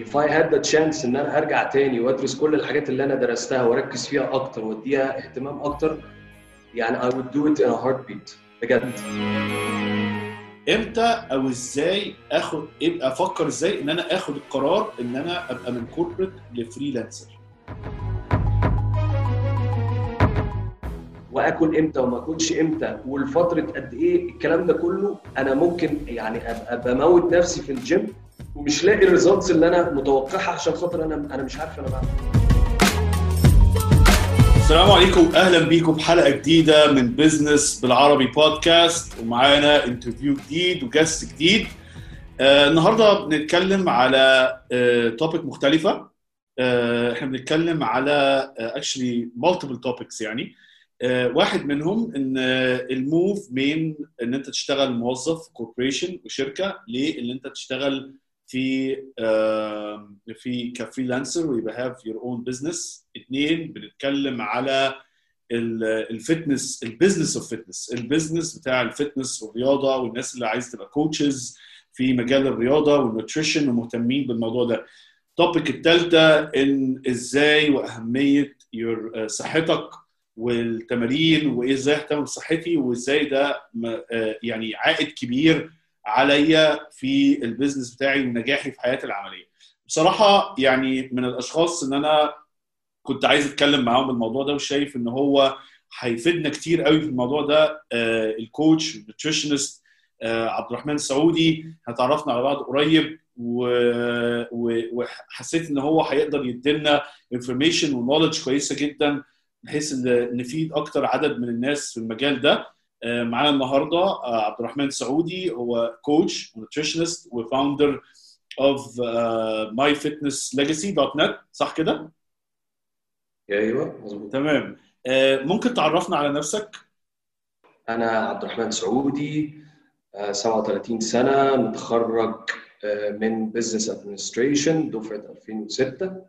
if I had the chance ان انا ارجع تاني وادرس كل الحاجات اللي انا درستها واركز فيها اكتر واديها اهتمام اكتر، يعني I would do it in a heartbeat بجد. امتى او ازاي افكر ازاي ان انا اخد القرار ان انا ابقى من كوربريت لفريلانسر، واكل امتى وما اكلش امتى والفتره قد ايه، الكلام ده كله انا ممكن يعني ابقى بموت نفسي في الجيم ومش لاقي الريزلتس اللي انا متوقعها عشان خاطر انا مش عارف انا بعمل. السلام عليكم، اهلا بيكم بحلقه جديده من بيزنس بالعربي بودكاست، ومعانا انترفيو جديد وجست جديد. النهارده بنتكلم على توبيك مختلفه. احنا بنتكلم على actually multiple topics، يعني واحد منهم ان الموف من ان انت تشتغل موظف في كوربوريشن وشركه لان انت تشتغل في كفريلانسر ويبقى have your own business. اثنين، بنتكلم على الفتنس، البيزنس اوف فتنس، البيزنس بتاع الفتنس والرياضه، والناس اللي عايز تبقى كوتشز في مجال الرياضه والنوتريشن ومهتمين بالموضوع ده. التوبيك الثالثه ان ازاي واهميه صحتك والتمارين، وازاي اهتم بصحتي، وازاي ده يعني عائد كبير عليا في البيزنس بتاعي ونجاحي في حياتي العمليه. بصراحه يعني من الاشخاص ان انا كنت عايز اتكلم معاهم بالموضوع ده، وشايف ان هو هيفيدنا كتير قوي في الموضوع ده. الكوتش النيوتريشنست عبد الرحمن سعودي، هتعرفنا على بعض قريب وحسيت ان هو هيقدر يدينا انفورميشن ونوليدج كويسه جدا بحيث ان نفيد اكتر عدد من الناس في المجال ده. معانا النهارده عبد الرحمن سعودي، هو كوتش ونيوتريشنست وفاوندر اوف myfitnesslegacy.net، صح كده؟ ايوه مظبوط تمام. ممكن تعرفنا على نفسك؟ انا عبد الرحمن سعودي، 37 سنه، متخرج من بزنس ادمنستريشن دفعه 2006.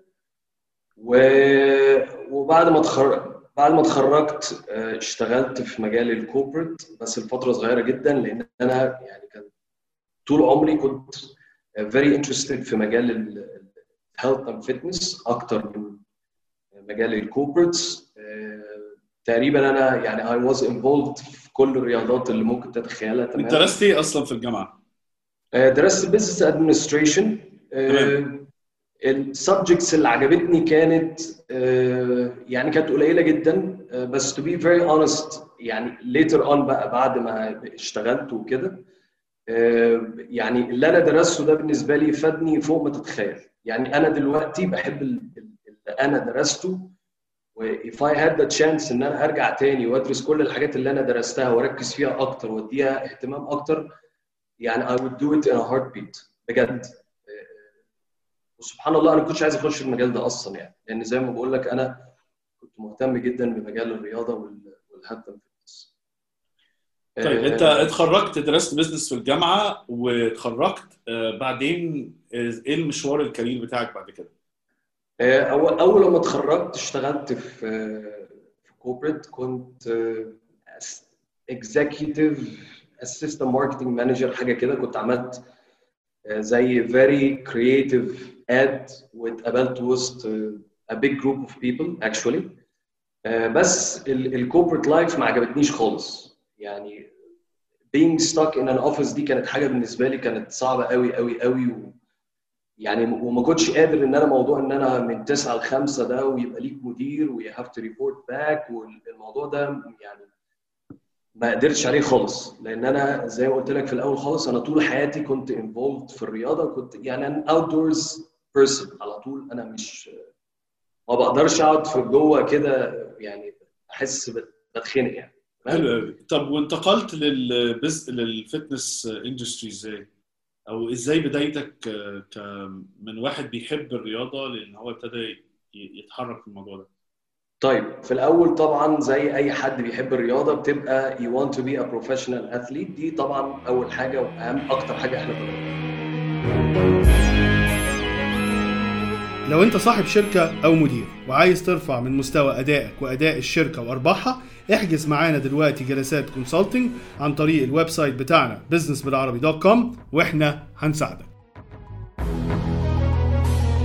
وبعد ما اتخرجت اشتغلت في مجال الكوربريت، بس لفتره صغيره جدا، لان انا يعني كان طول عمري كنت very interested في مجال الهيلث اند فيتنس اكتر من مجال الكوربريتس. تقريبا انا يعني I was involved في كل الرياضات اللي ممكن تتخيلها. تمام. انت درست ايه اصلا في الجامعه؟ درست بزنس ادمنستريشن. السبجكتس اللي عجبتني كانت يعني كانت قليله جدا، بس to be very honest يعني later on بقى بعد ما اشتغلت وكده، يعني اللي انا درسته ده بالنسبه لي فادني فوق ما تتخيل. يعني انا دلوقتي بحب اللي انا درسته، و if I had the chance ان انا ارجع تاني وادرس كل الحاجات اللي انا درستها واركز فيها اكتر واديها اهتمام اكتر، يعني I would do it in a heartbeat بجد. وسبحان الله انا كنتش عايز اخش المجال ده اصلا، يعني لان زي ما بقول لك انا كنت مهتم جدا بمجال الرياضه والهيلث اند فيتنس. طيب انت اتخرجت درست بيزنس في الجامعه واتخرجت، بعدين ايه المشوار الكارير بتاعك بعد كده؟ اول لما اتخرجت اشتغلت في كوربريت، كنت اكزيكتيف اسيستنت ماركتنج مانجر حاجه كده. كنت عملت زي very creative ad واتقابلت وسط a big group of people actually. بس الكوربريت لايف ما عجبتنيش خالص، يعني being stuck in an office دي كانت حاجه بالنسبه لي كانت صعبه قوي قوي قوي، يعني وما كنتش قادر ان انا موضوع ان انا من 9 ل 5 ده ويبقى ليك مدير و you have to report back، والموضوع ده يعني ما قدرتش عليه خالص، لان انا زي ما قلت لك في الاول خالص انا طول حياتي كنت involved في الرياضه، كنت يعني انا outdoors person على طول. انا مش ما بقدرش اقعد في جوه كده، يعني احس بتخنق يعني. حلو. طب وانتقلت للفتنس اندستري ازاي؟ او ازاي بدايتك من واحد بيحب الرياضه لان هو ابتدى يتحرك في الموضوع ده؟ طيب في الاول طبعا زي اي حد بيحب الرياضه بتبقى you want to be a professional athlete، دي طبعا اول حاجه واهم اكتر حاجه احنا بنعملها. لو انت صاحب شركه او مدير وعايز ترفع من مستوى ادائك واداء الشركه وارباحها، احجز معانا دلوقتي جلسات كونسلتنج عن طريق الويب سايت بتاعنا businessbilarabi.com واحنا هنساعدك.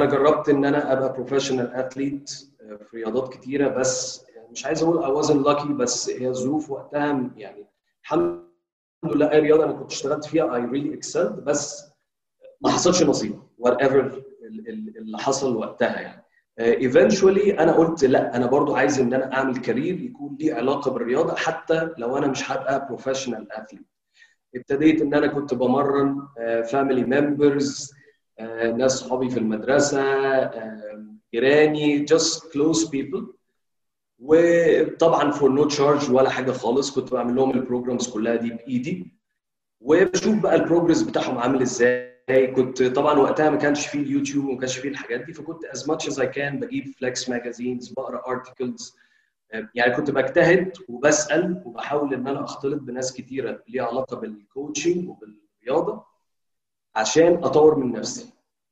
جربت ان انا ابقى بروفيشنال اثليت في رياضات كتيره، بس مش عايز اقول I wasn't lucky، بس هي الظروف وقتها يعني الحمد لله اي رياضه انا كنت اشتغلت فيها I really excelled، بس ما حصلش نصيب whatever اللي حصل وقتها يعني. eventually انا قلت لا، انا برضو عايز ان انا اعمل كارير يكون ليه علاقه بالرياضه حتى لو انا مش هبقى بروفيشنال اثليت. ابتديت ان انا كنت بمرن فاميلي ممبرز، ناس صحابي في المدرسه، جيراني، just close people، وطبعا فور نو تشارج ولا حاجه خالص. كنت بعمل لهم البروجرامز كلها دي بايدي، وبشوف بقى البروجرس بتاعهم عامل ازاي. كنت طبعا وقتها ما كانش فيه اليوتيوب وما كانش فيه الحاجات دي، فكنت as much as I can بجيب فليكس ماجازينز، بقرا ارتكلز، يعني كنت بجتهد وبسال وبحاول ان انا اختلط بناس كتيره ليها علاقه بالكوتشنج وبالرياضه عشان اطور من نفسي.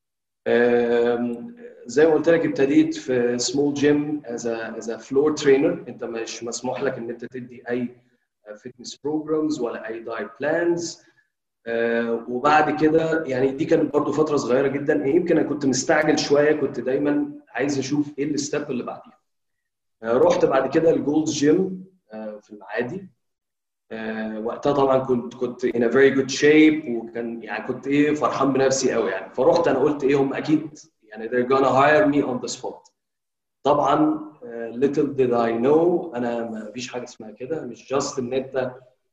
زي ما قلت لك ابتديت في سمول جيم از ا فلور ترينر. انت مش مسموح لك ان انت تدي اي فيتنس بروجرامز ولا اي دايت بلانز. وبعد كده يعني دي كانت برضو فتره صغيره جدا، يمكن انا كنت مستعجل شويه، كنت دايما عايز اشوف ايه الستيب اللي بعديها. رحت بعد كده الجولدز جيم في المعادي. وقتها طبعا كنت in a very good shape، وكان يعني كنت فرحان بنفسي قوي يعني. فرحت انا قلت هم اكيد يعني they're gonna hire me on the spot. طبعا little did I know انا ما فيش حاجه اسمها كده، مش just ان انت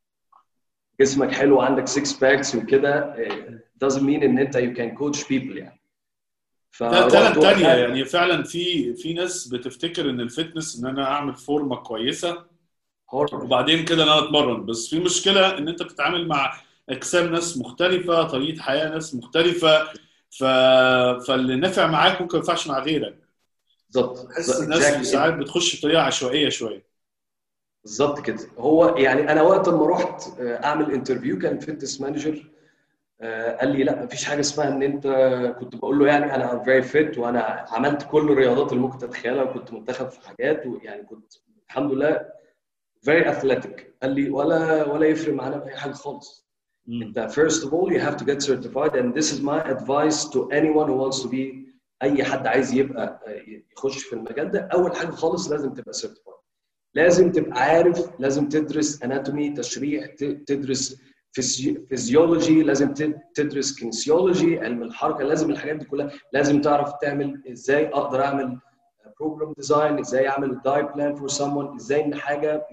جسمك حلو وعندك 6 باكس وكده doesn't mean ان انت you can coach people يعني. ده تالنت تانية يعني. فعلا في ناس بتفتكر ان الفتنس ان انا اعمل فورمه كويسه وبعدين كده انا اتمرن، بس في مشكله ان انت بتتعامل مع اجسام ناس مختلفه، طريقه حياه ناس مختلفه، فاللي نافع معاك ممكن ما ينفعش مع غيرك. بالظبط. بحس الناس ساعات بتخش بطريقه عشوائيه شويه. بالظبط كده. هو يعني انا وقت ما رحت اعمل انترفيو كان فيتنس مانجر قال لي لا مفيش حاجه اسمها ان انت، كنت بقول له يعني انا فيري فيت وانا عملت كل الرياضات اللي ممكن تتخيلها وكنت منتخب في حاجات، ويعني كنت الحمد لله very athletic. قال لي ولا يفرق معانا باي حاجه خالص. انت first of all you have to get certified and this is my advice to anyone who wants to be، اي حد عايز يبقى يخش في المجال ده، اول حاجه خالص لازم تبقى certified، لازم تبقى عارف، لازم تدرس anatomy تشريح، تدرس فيزيولوجي، لازم تدرس كينسيولوجي علم الحركه، لازم الحاجات دي كلها، لازم تعرف تعمل ازاي اقدر اعمل بروجرام ديزاين، ازاي اعمل دايت بلان فور someone، ازاي ان حاجه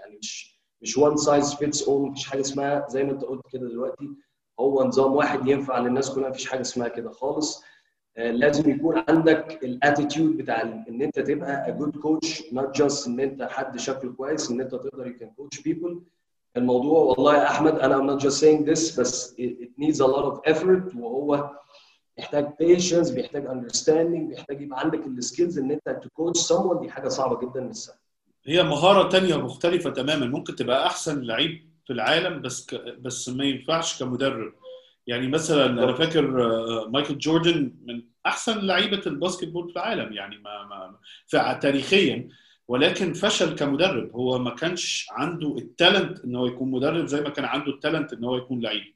مش one size fits all، مفيش حاجه اسمها زي ما انت قلت كده دلوقتي هو نظام واحد ينفع للناس كلها، مفيش حاجه اسمها كده خالص. لازم يكون عندك الاتيتيود بتاع ان انت تبقى a good coach not just ان انت حد شكله كويس، ان انت تقدر you can coach people. الموضوع والله يا احمد انا I'm not just saying this بس it needs a lot of effort، وهو بيحتاج patience، بيحتاج understanding، بيحتاج يبقى عندك السكيلز ان انت to coach someone. دي حاجه صعبه جدا مش سهله. هي مهاره تانية مختلفه تماما. ممكن تبقى احسن لعيب في العالم بس ما ينفعش كمدرب. يعني مثلا انا فاكر مايكل جوردن من احسن لعيبه الباسكت بول في العالم يعني تاريخيا، ولكن فشل كمدرب. هو ما كانش عنده التالنت ان هو يكون مدرب زي ما كان عنده التالنت ان هو يكون لعيب.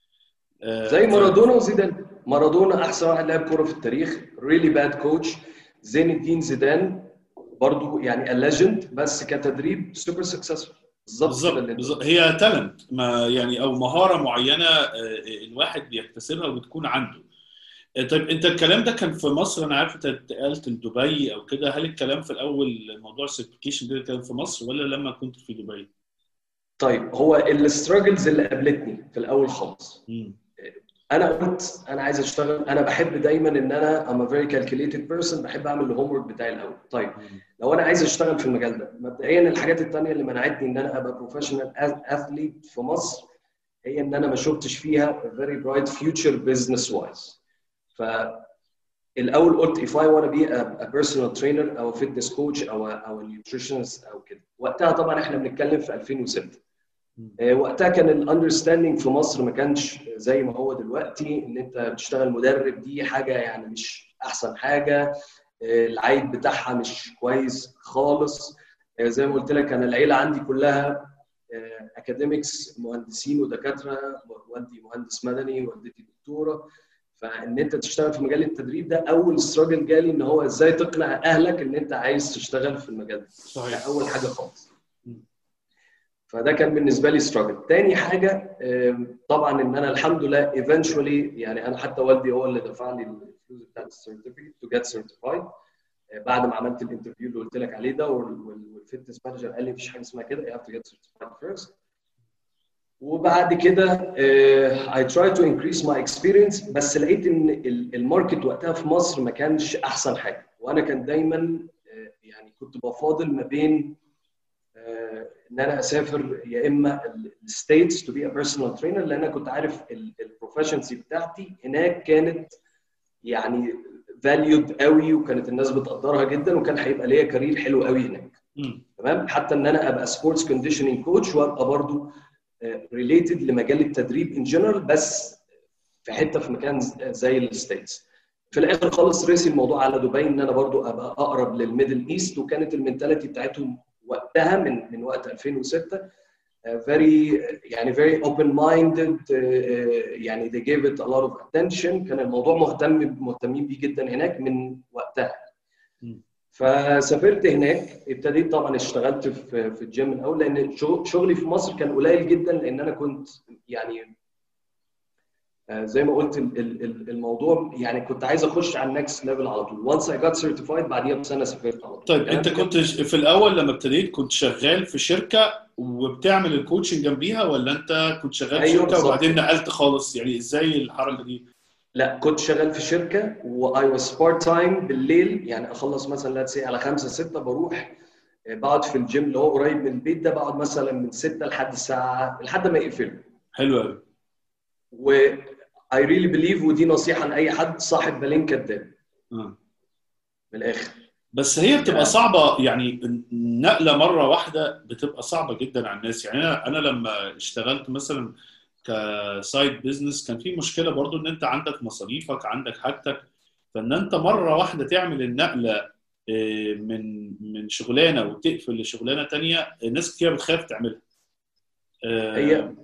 زي مارادونا وزيدان. مارادونا احسن واحد لعب كوره في التاريخ، ريلي باد كوتش. زين الدين زيدان برضو يعني a legend بس كتدريب سوبر سكسسفول. بالظبط. هي تالنت يعني او مهاره معينه الواحد بيكتسبها وبتكون عنده. طيب انت الكلام ده كان في مصر، انا عارف انت انتقلت لدبي او كده، هل الكلام في الاول موضوع السيرتيفيكيشن ده كان في مصر ولا لما كنت في دبي؟ طيب هو الستراجلز اللي قابلتني في الاول خالص، انا قلت انا عايز اشتغل، انا بحب دايما ان انا I'm a very calculated person، بحب اعمل الهوم ورك بتاعي الاول. طيب لو انا عايز اشتغل في المجال ده، مبدئيا الحاجات الثانيه اللي منعتني ان انا ابقى بروفيشنال اثليت في مصر هي ان انا ما شفتش فيها very bright future business wise. فالاول قلت if I want to be a personal trainer او fitness coach او nutritionist او كده. وقتها طبعا احنا بنتكلم في 2006. وقتها كان الاندرستاندينج في مصر ما كانش زي ما هو دلوقتي، ان انت بتشتغل مدرب دي حاجه يعني مش احسن حاجه، العائد بتاعها مش كويس خالص. زي ما قلت لك انا العيله عندي كلها اكاديميكس، مهندسين ودكاتره، والدي مهندس مدني، والدتي دكتوره، فان انت تشتغل في مجال التدريب ده اول ستراجل جالي، ان هو ازاي تقنع اهلك ان انت عايز تشتغل في المجال ده. صحيح. ده اول حاجه خالص. فده كان بالنسبه لي ستراجل. تاني حاجه طبعا ان انا الحمد لله eventually، يعني انا حتى والدي هو اللي دفع لي الفلوس بتاعت السيرتيفيكت تو جيت سيرتيفايد. بعد ما عملت الانترفيو اللي قلت لك عليه ده، والفيتنس مانجر قال لي مفيش حاجه اسمها كده، you have to get certified first. وبعد كده I try to increase my experience، بس لقيت ان الماركت وقتها في مصر ما كانش احسن حاجه، وانا كان دايما يعني كنت بفاضل ما بين ان انا اسافر يا اما الستيتس تو بي ا بيرسونال ترينر، لان انا كنت عارف البروفيشنسي بتاعتي هناك كانت يعني فاليود قوي، وكانت الناس بتقدرها جدا، وكان هيبقى ليا كارير حلو قوي هناك. تمام. حتى ان انا ابقى سبورتس كونديشننج كوتش، وابقى برضو ريليتد لمجال التدريب ان جنرال، بس في حته في مكان زي الستيتس. في الاخر خالص رسي الموضوع على دبي، ان انا برضو ابقى اقرب للميدل ايست، وكانت المنتاليتي بتاعتهم وقتها من وقت 2006 very open minded، يعني they gave it a lot of attention. كان الموضوع مهتمين بيه جدا هناك من وقتها. فسافرت هناك، ابتديت طبعا اشتغلت في الجيم الاول، لان شغلي في مصر كان قليل جدا، لان انا كنت يعني زي ما قلت الموضوع يعني كنت عايز اخش على النكست ليفل على طول. once I got certified بعديها بسنه سافرت على طول. طيب انت كنت في الاول لما ابتديت كنت شغال في شركه وبتعمل الكوتشنج جنبيها، ولا انت كنت شغال في أيوة شركه وبعدين نقلت خالص؟ يعني ازاي الحركه دي؟ لا، كنت شغال في شركه واي واز بارت تايم بالليل، يعني اخلص مثلا لا تسي على 5 6 بروح بقعد في الجيم اللي هو قريب من البيت ده، بقعد مثلا من 6 لحد الساعه لحد ما يقفلوا. حلو قوي. و I really believe، ودي نصيحه لاي حد، صاحب بالين كداب. من الاخر. بس هي بتبقى صعبه، يعني نقله مره واحده بتبقى صعبه جدا على الناس. يعني انا لما اشتغلت مثلا كسايد بزنس كان في مشكله برضو، ان انت عندك مصاريفك، عندك حاجتك، فان انت مره واحده تعمل النقله من شغلانه وتقفل لشغلانه تانية، ناس كتير بتخاف تعملها. هي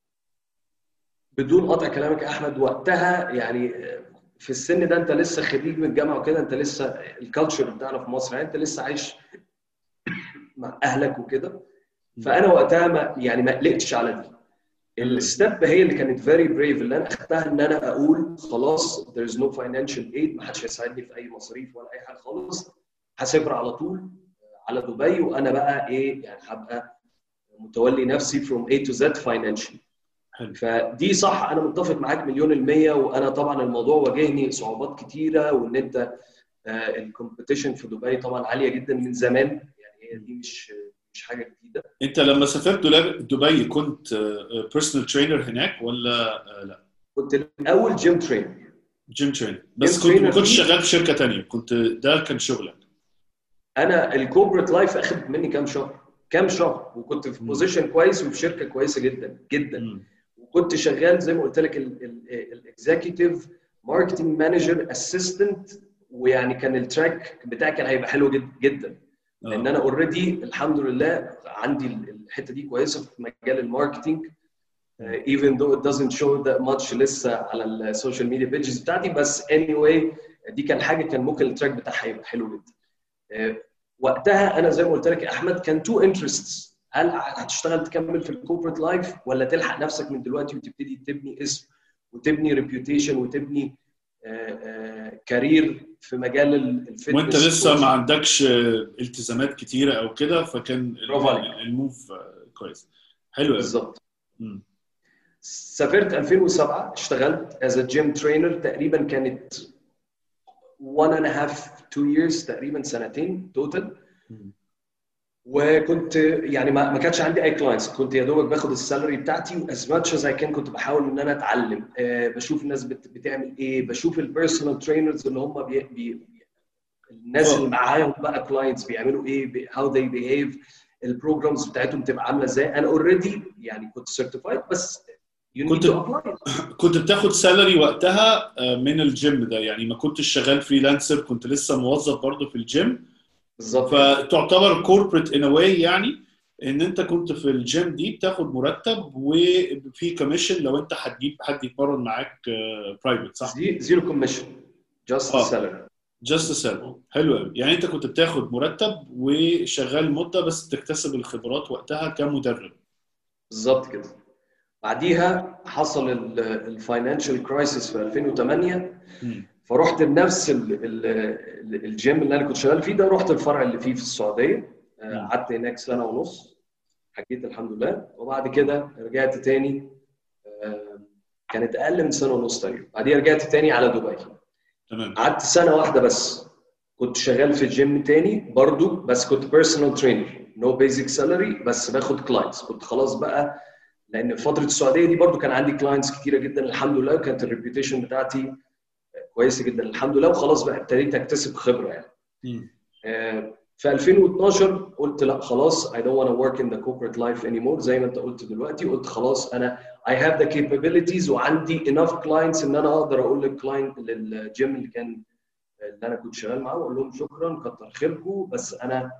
بدون قطع كلامك يا احمد، وقتها يعني في السن ده انت لسه خريج من الجامعه وكده، انت لسه الكالتشر بتاعنا في مصر، يعني انت لسه عايش مع اهلك وكده. فانا وقتها ما قلقتش على دي. الستيب هي اللي كانت فيري بريف اللي انا اخدتها، ان انا اقول خلاص there is no financial aid، ما حدش هيساعدني في اي مصاريف ولا اي حاجه خالص، هسافر على طول على دبي، وانا بقى يعني هبقى متولي نفسي from A to Z financially. فدي صح، انا متفق معاك 100%. وانا طبعا الموضوع واجهني صعوبات كتيره، وان انت الكومبيتيشن في دبي طبعا عاليه جدا من زمان، يعني هي دي مش حاجه جديده. انت لما سافرت دبي كنت بيرسونال ترينر هناك ولا لا؟ كنت الاول جيم ترينر. بس كنت ما كنتش شغال في شركه ثانيه، كنت ده كان شغلك؟ انا الكوربريت لايف اخذ مني كام شهر، وكنت في بوزيشن كويس وفي شركه كويسه جدا جدا. وكنت شغال زي ما قلت لك الاكزيكتيف ماركتنج مانجر اسيستنت، ويعني كان التراك بتاعي كان هيبقى حلو جدا، لان انا اوريدي الحمد لله عندي الحته دي كويسه في مجال الماركتنج، even though it doesn't show that much لسه على السوشيال ميديا بيجز بتاعتي، بس anyway دي كان حاجه كان ممكن التراك بتاعها يبقى حلو جدا. وقتها انا زي ما قلت لك يا احمد كان تو انترستس، هل هتشتغل تكمل في الكوربريت لايف، ولا تلحق نفسك من دلوقتي وتبتدي تبني اسم وتبني ريبيوتيشن وتبني كارير في مجال الفتنس، وانت لسه ما عندكش التزامات كتيره او كده، فكان الموف كويس. حلو بالظبط. سافرت 2007، اشتغلت از جيم ترينر، تقريبا كانت 1.5 2 years، تقريبا سنتين توتال. وكنت يعني ما كانش عندي اي كلاينتس، كنت يا دوبك باخد السالري بتاعتي، واز ماتش از اي كان كنت بحاول ان انا اتعلم، بشوف الناس بتعمل ايه، بشوف البيرسونال ترينرز اللي هم الناس اللي معاهم بقى كلاينتس بيعملوا ايه، هاو ذي بيهيف، البروجرامز بتاعتهم تبقى عامله ازاي. انا اوريدي يعني كنت سيرتيفايد، بس كنت بتاخد سالري وقتها من الجيم ده، يعني ما كنتش شغال فريلانسر، كنت لسه موظف برضه في الجيم. بالظبط. فتعتبر كوربريت ان واي يعني، ان انت كنت في الجيم دي بتاخد مرتب وفي كوميشن لو انت هتجيب حد يتمرن معاك برايفت، صح؟ زيرو كوميشن، جاست سالري. جاست سالري، حلو قوي. يعني انت كنت بتاخد مرتب وشغال مده بس بتكتسب الخبرات وقتها كمدرب. بالظبط كده. بعديها حصل الفاينانشال كرايسيس في 2008. فرحت لنفس الجيم اللي انا كنت شغال فيه ده، رحت الفرع اللي فيه في السعوديه، قعدت هناك سنه ونص، حكيت الحمد لله. وبعد كده رجعت تاني، كانت اقل من سنه ونص تقريبا. بعديها رجعت تاني على دبي. تمام. قعدت سنه واحده بس، كنت شغال في الجيم تاني برضو، بس كنت بيرسونال ترينر، نو بيزك سالري، بس باخد كلاينتس. كنت خلاص بقى، لان في فتره السعوديه دي برضو كان عندي كلاينتس كتيره جدا الحمد لله، وكانت الريبيوتيشن بتاعتي كويسه جدا الحمد لله، وخلاص بقى ابتديت اكتسب خبره يعني. في 2012 قلت لا خلاص، I don't want to work in the corporate life anymore. زي ما انت قلت دلوقتي، قلت خلاص انا I have the capabilities وعندي enough clients ان انا اقدر اقول للكلاينت للجيم اللي انا كنت شغال معاه، واقول لهم شكرا كتر خيركم، بس انا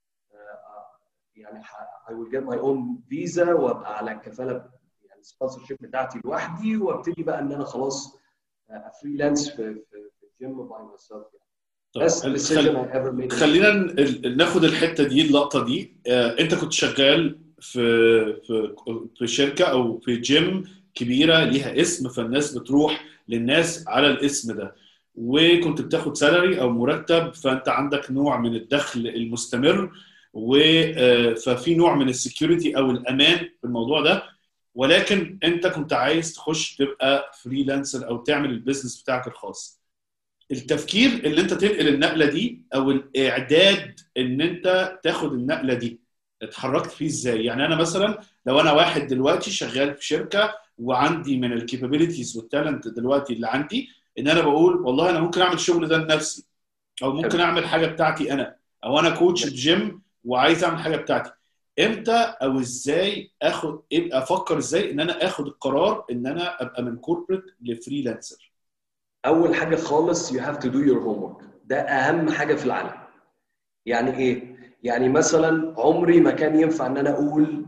يعني I will get my own visa وابقى على الكفاله يعني السبونسرشيب بتاعتي لوحدي، وابتدي بقى ان انا خلاص فريلانس في الجيم باي ماي سيلف. بس decision I ever made. خلينا ناخد الحته دي، اللقطه دي. انت كنت شغال في شركه او في جيم كبيره ليها اسم، فالناس بتروح للناس على الاسم ده، وكنت بتاخد سالري او مرتب، فانت عندك نوع من الدخل المستمر، ففي نوع من السكيورتي او الامان في الموضوع ده. ولكن انت كنت عايز تخش تبقى فريلانسر او تعمل البيزنس بتاعك الخاص. التفكير اللي انت تنقل النقله دي او الاعداد ان انت تاخد النقله دي، اتحركت فيه ازاي؟ يعني انا مثلا لو انا واحد دلوقتي شغال في شركه وعندي من الكابابيلتيز والتالنت دلوقتي اللي عندي، ان انا بقول والله انا ممكن اعمل الشغل ده لنفسي، او ممكن اعمل حاجه بتاعتي انا، او انا كوتش في جيم وعايز اعمل حاجه بتاعتي. امتى او ازاي افكر ازاي ان انا اخد القرار ان انا ابقى من كوربريت لفريلانسر؟ اول حاجه خالص you have to do your homework. ده اهم حاجه في العالم. يعني ايه؟ يعني مثلا عمري ما كان ينفع ان انا اقول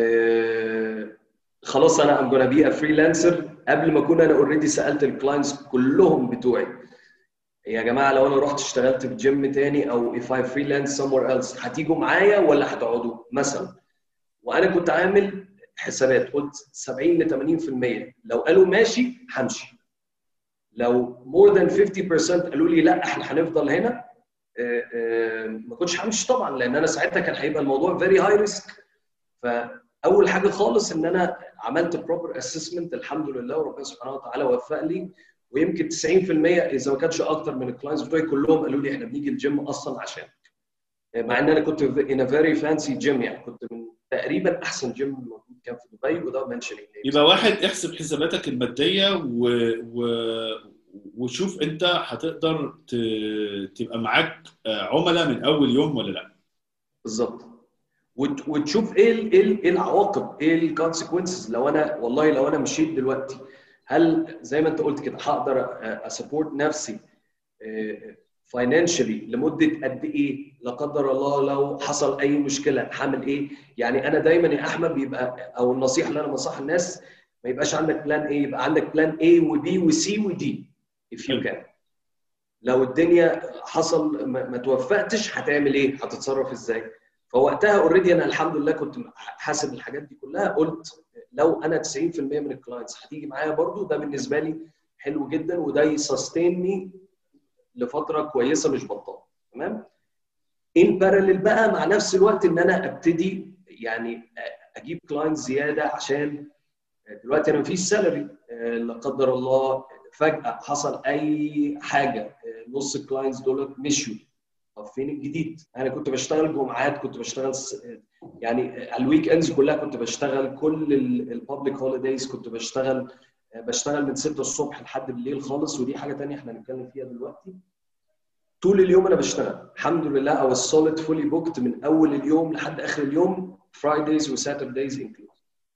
خلاص انا I'm gonna be a freelancer قبل ما اكون انا اوريدي سالت الكلاينتس كلهم بتوعي يا جماعه لو انا رحت اشتغلت في جيم تاني او if I freelance somewhere else هتيجوا معايا ولا هتقعدوا مثلا. وانا كنت عامل حسابات، قلت 70 ل 80% لو قالوا ماشي همشي، لو more than 50% قالوا لي لا احنا هنفضل هنا ما كنتش همشي طبعا، لان انا ساعتها كان هيبقى الموضوع very high risk. فاول حاجه خالص ان انا عملت proper assessment الحمد لله، وربنا سبحانه وتعالى وفق لي. ويمكن 90% اذا ما كانش اكتر من الكلاينتس بتوعي كلهم قالوا لي احنا بنيجي الجيم اصلا عشان، مع ان انا كنت in a very fancy gym، يعني كنت من تقريبا احسن جيم موجود كان في دبي، وده منشن. يبقى واحد احسب حساباتك الماديه وشوف انت هتقدر تبقى معاك عملاء من اول يوم ولا لا. بالظبط. وتشوف ايه العواقب، ايه الكونسيكونسز. لو انا مشيت دلوقتي، هل زي ما انت قلت كده هقدر اسبورت نفسي فاينانشالي لمده قد ايه؟ لا قدر الله لو حصل اي مشكله هعمل ايه؟ يعني انا دايما يا احمد بيبقى، او النصيحه اللي انا بنصح الناس، ما يبقاش عندك بلان ايه، يبقى عندك بلان ايه وبي وسي ودي if you can. لو الدنيا حصل ما توفقتش هتعمل ايه؟ هتتصرف ازاي؟ فوقتها اوريدي انا الحمد لله كنت حاسب الحاجات دي كلها. قلت لو انا 90% من الكلاينتس هتيجي معايا برضو، ده بالنسبه لي حلو جدا، وده يسستينني لفتره كويسه مش بطال. تمام. ان باراليل بقى مع نفس الوقت ان انا ابتدي يعني اجيب كلاينتس زياده، عشان دلوقتي انا مفيش سالري، لا قدر الله فجاه حصل اي حاجه نص الكلاينتس دول مشوا، طب فين الجديد؟ انا كنت بشتغل جمعات، كنت بشتغل يعني الويك اندز كلها كنت بشتغل، كل البابليك هوليدايز كنت بشتغل من 6 الصبح لحد بالليل خالص. ودي حاجه ثانيه احنا هنتكلم فيها دلوقتي. طول اليوم انا بشتغل الحمد لله، او السوليد فولي بوكت من اول اليوم لحد اخر اليوم، فرايدايز وساتردايز انكلود.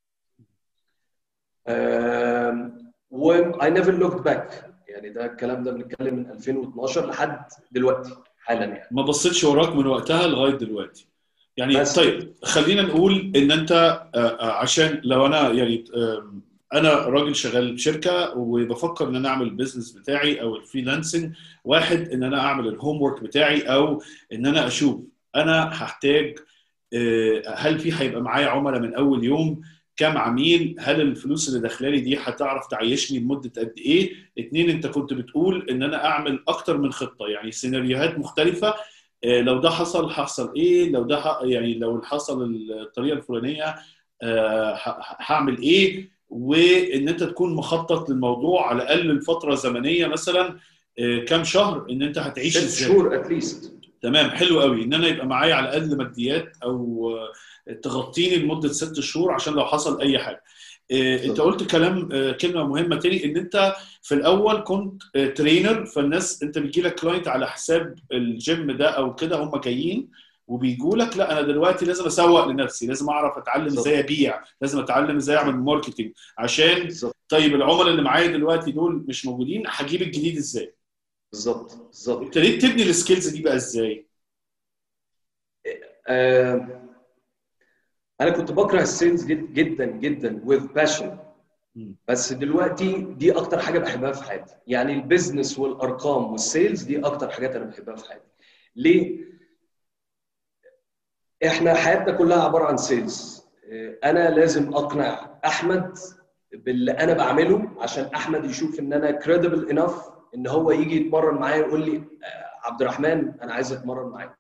و I never looked back. يعني ده الكلام ده بنتكلم من 2012 لحد دلوقتي حالا يعني. ما بصيتش وراك من وقتها لغايه دلوقتي. يعني طيب خلينا نقول ان انت عشان لو انا يعني انا راجل شغال بشركه وبفكر ان انا اعمل البيزنس بتاعي او الفريلانسنج. واحد، ان انا اعمل الهوم ورك بتاعي او ان انا اشوف انا هحتاج هل في هيبقى معايا عملاء من اول يوم، كم عميل، هل الفلوس اللي داخلالي دي هتعرف تعيشني لمده قد ايه. اتنين، انت كنت بتقول ان انا اعمل اكتر من خطه، يعني سيناريوهات مختلفه. لو ده حصل هحصل ايه، لو ده يعني لو حصل الطريقه الفلانيه هعمل ايه. وان انت تكون مخطط للموضوع على الاقل الفتره زمنيه، مثلا كام شهر، ان انت هتعيش 6 ازاي. شهور اتليست. تمام، حلو قوي ان انا يبقى معايا على الاقل ماديات او تغطيني لمده 6 شهور عشان لو حصل اي حاجه. انت قلت كلمه مهمه تاني، ان انت في الاول كنت ترينر، فالناس انت بيجي لك كلاينت على حساب الجيم ده او كده، هم جايين وبيجوا لك لا انا دلوقتي لازم اسوق لنفسي، لازم اعرف اتعلم ازاي ابيع، لازم اتعلم ازاي اعمل ماركتنج عشان طيب العملاء اللي معايا دلوقتي دول مش موجودين، هجيب الجديد ازاي. بالظبط. ابتديت تبني السكيلز دي بقى ازاي؟ انا كنت بكره السيلز جدا جدا with passion، بس دلوقتي دي اكتر حاجه بحبها في حياتي. يعني البيزنس والارقام والسيلز دي اكتر حاجات انا بحبها في حياتي. ليه؟ احنا حياتنا كلها عباره عن سيلز. انا لازم اقنع احمد باللي انا بعمله عشان احمد يشوف ان انا credible enough ان هو يجي يتمرن معايا يقول لي عبد الرحمن انا عايز اتمرن معاك.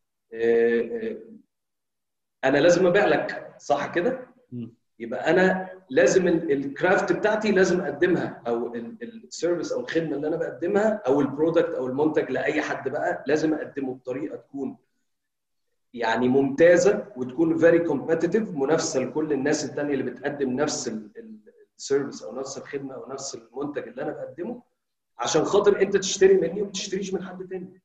انا لازم ابيع لك، صح كده؟ يبقى انا لازم الكرافت بتاعتي لازم اقدمها، او السيرفيس او الخدمه اللي انا بقدمها او البرودكت او المنتج لاي حد بقى لازم اقدمه بطريقه تكون يعني ممتازه وتكون فيري كومبيتيتيف، منافسه لكل الناس الثانيه اللي بتقدم نفس السيرفيس او نفس الخدمه او نفس المنتج اللي انا بقدمه، عشان خاطر انت تشتري مني وما تشتريش من حد تاني.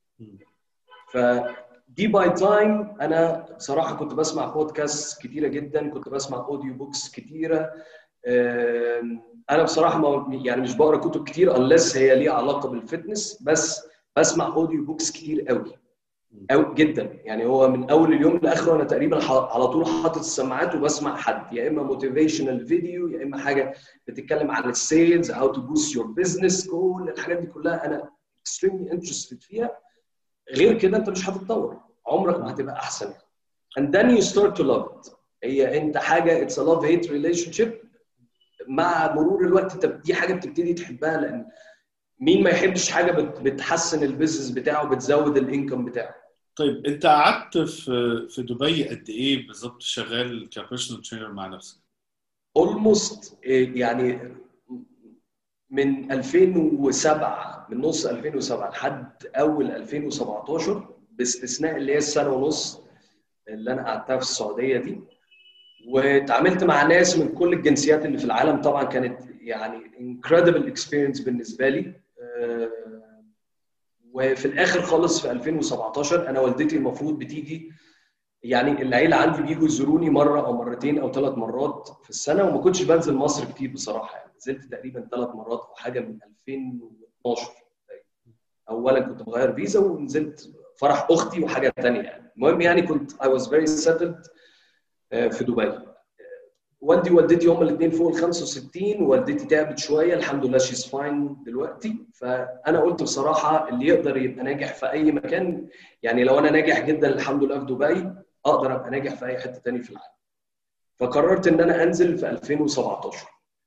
فدي باي تايم انا بصراحه كنت بسمع بودكاست كتيره جدا، كنت بسمع اوديو بوكس كتيره. انا بصراحه يعني مش بقرا كتب كتير unless هي ليها علاقه بالفتنس، بس بسمع اوديو بوكس كتير قوي قوي جدا. يعني هو من اول اليوم لاخره انا تقريبا على طول حاطط السماعات وبسمع حد، يا اما موتيفيشنال فيديو يا اما حاجه بتتكلم عن السيلز، هاو تو بوست يور بزنس، كل الحاجات دي كلها انا extremely interested فيها. غير كده انت مش هتتطور، عمرك ما هتبقى احسن. and then you start to love it. هي انت حاجه it's a love hate relationship. مع مرور الوقت دي حاجه بتبتدي تحبها، لان مين ما يحبش حاجه بتحسن البيزنس بتاعه، بتزود الانكم بتاعه. طيب انت قعدت في دبي قد ايه بالظبط شغال كبيرسونال ترينر مع نفسك؟ almost يعني من 2007، من نص 2007 لحد اول 2017 باستثناء اللي هي السنه ونص اللي انا قعدتها في السعوديه دي. واتعاملت مع ناس من كل الجنسيات اللي في العالم، طبعا كانت يعني incredible experience بالنسبه لي. وفي الاخر خالص في 2017 انا والدتي المفروض بتيجي، يعني العيله عندي بيجوا يزوروني مره او مرتين او 3 مرات في السنه، وما كنتش بنزل مصر كتير بصراحه. يعني نزلت تقريبا 3 مرات او حاجه من 2012. اولا كنت بغير فيزا ونزلت فرح اختي وحاجه ثانيه يعني. المهم يعني كنت I was very settled في دبي. والدي ووالدتي هم الاثنين فوق ال 65، ووالدتي تعبت شويه، الحمد لله شيز فاين دلوقتي. فانا قلت بصراحه اللي يقدر يبقى ناجح في اي مكان، يعني لو انا ناجح جدا الحمد لله في دبي، اقدر ابقى ناجح في اي حته ثانيه في العالم. فقررت ان انا انزل في 2017.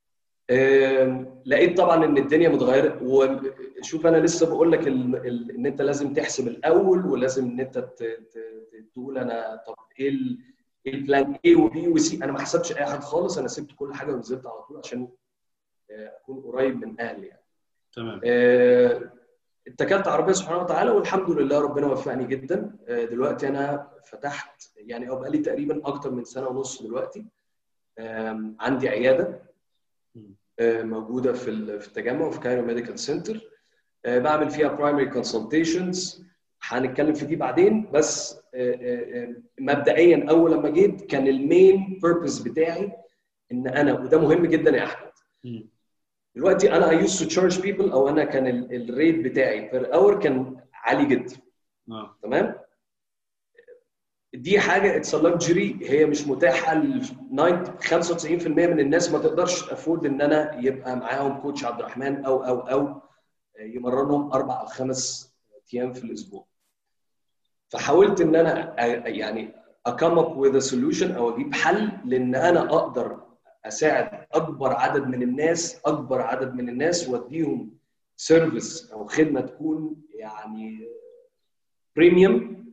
لقيت طبعا ان الدنيا متغيره. وشوف انا لسه بقول لك ان انت لازم تحسب الاول، ولازم ان انت تقول انا طب ايه البلان A وبي وسي. انا ما حسبتش اي حاجه خالص، انا سبت كل حاجه ونزلت على طول عشان اكون قريب من اهلي يعني. تمام. اتكلت على ربنا سبحانه وتعالى والحمد لله ربنا وفقني جدا. دلوقتي انا فتحت يعني او بقالي تقريبا اكتر من سنه ونص دلوقتي. عندي عياده موجوده في التجمع في كايرو ميديكال سنتر. بعمل فيها برايمري كونسلتيشنز، هنتكلم في دي بعدين. بس مبدئيا اول لما جيت كان المين بيربز بتاعي ان انا، وده مهم جدا يا احمد، دلوقتي انا I used to charge people، او انا كان الريت بتاعي بير اور كان عالي جدا. تمام. دي حاجه اتس لكجري، هي مش متاحه ل 95% من الناس. ما تقدرش تافورد ان انا يبقى معاهم كوتش عبد الرحمن او يمرنهم 4 أو 5 ايام في الاسبوع. فحاولت ان انا يعني اكم اب وذ سوليوشن او اجيب حل لان انا اقدر اساعد اكبر عدد من الناس واديهم سيرفيس او خدمه تكون يعني بريميوم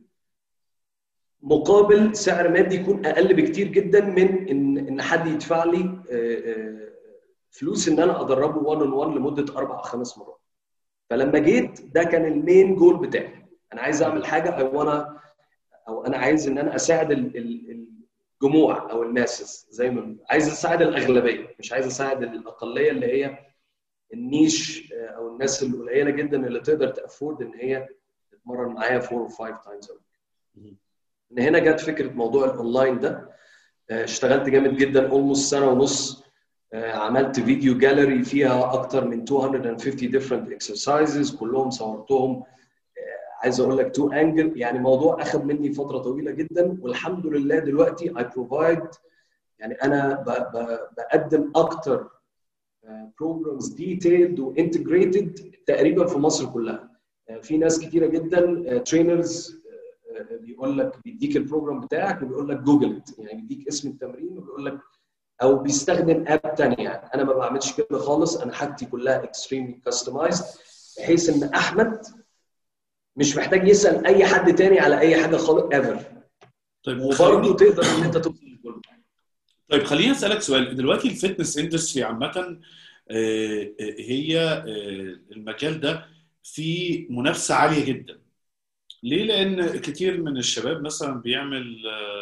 مقابل سعر مادي يكون اقل بكتير جدا من ان حد يدفع لي فلوس ان انا ادربه 1 on 1 لمده 4 أو 5 مرات. فلما جيت ده كان المين جول بتاعي، انا عايز اعمل حاجه انا عايز ان انا اساعد الجموع او الماسس، زي ما عايز اساعد الاغلبيه، مش عايز اساعد الاقليه اللي هي النيش او الناس القليله جدا اللي تقدر تافورد ان هي تتمرن معايا 4 or 5 times a week. من هنا جت فكره موضوع الاونلاين ده. اشتغلت جامد جدا almost سنه ونص. عملت فيديو جاليري فيها اكتر من 250 different exercises كلهم صورتهم. عايز اقول لك 2 انجل، يعني موضوع اخذ مني فتره طويله جدا، والحمد لله دلوقتي I provide، يعني انا بقدم اكتر programs detailed وانتجريتد تقريبا في مصر كلها. في ناس كتيره جدا ترينرز بيقول لك بيديك البروجرام بتاعك وبيقول لك جوجل، يعني بيديك اسم التمرين وبيقول لك، او بيستخدم اب ثانيه. يعني انا ما بعملش كده خالص، انا حاجتي كلها اكستريملي كاستمايزد بحيث ان احمد مش محتاج يسال اي حد تاني على اي حاجه خالص ايفر. طيب وبرضه تقدر ان انت توصل لكله. طيب خليني اسالك سؤال. دلوقتي الفتنس اندستري عامه هي المجال ده فيه منافسه عاليه جدا. ليه؟ لان كتير من الشباب مثلا بيعمل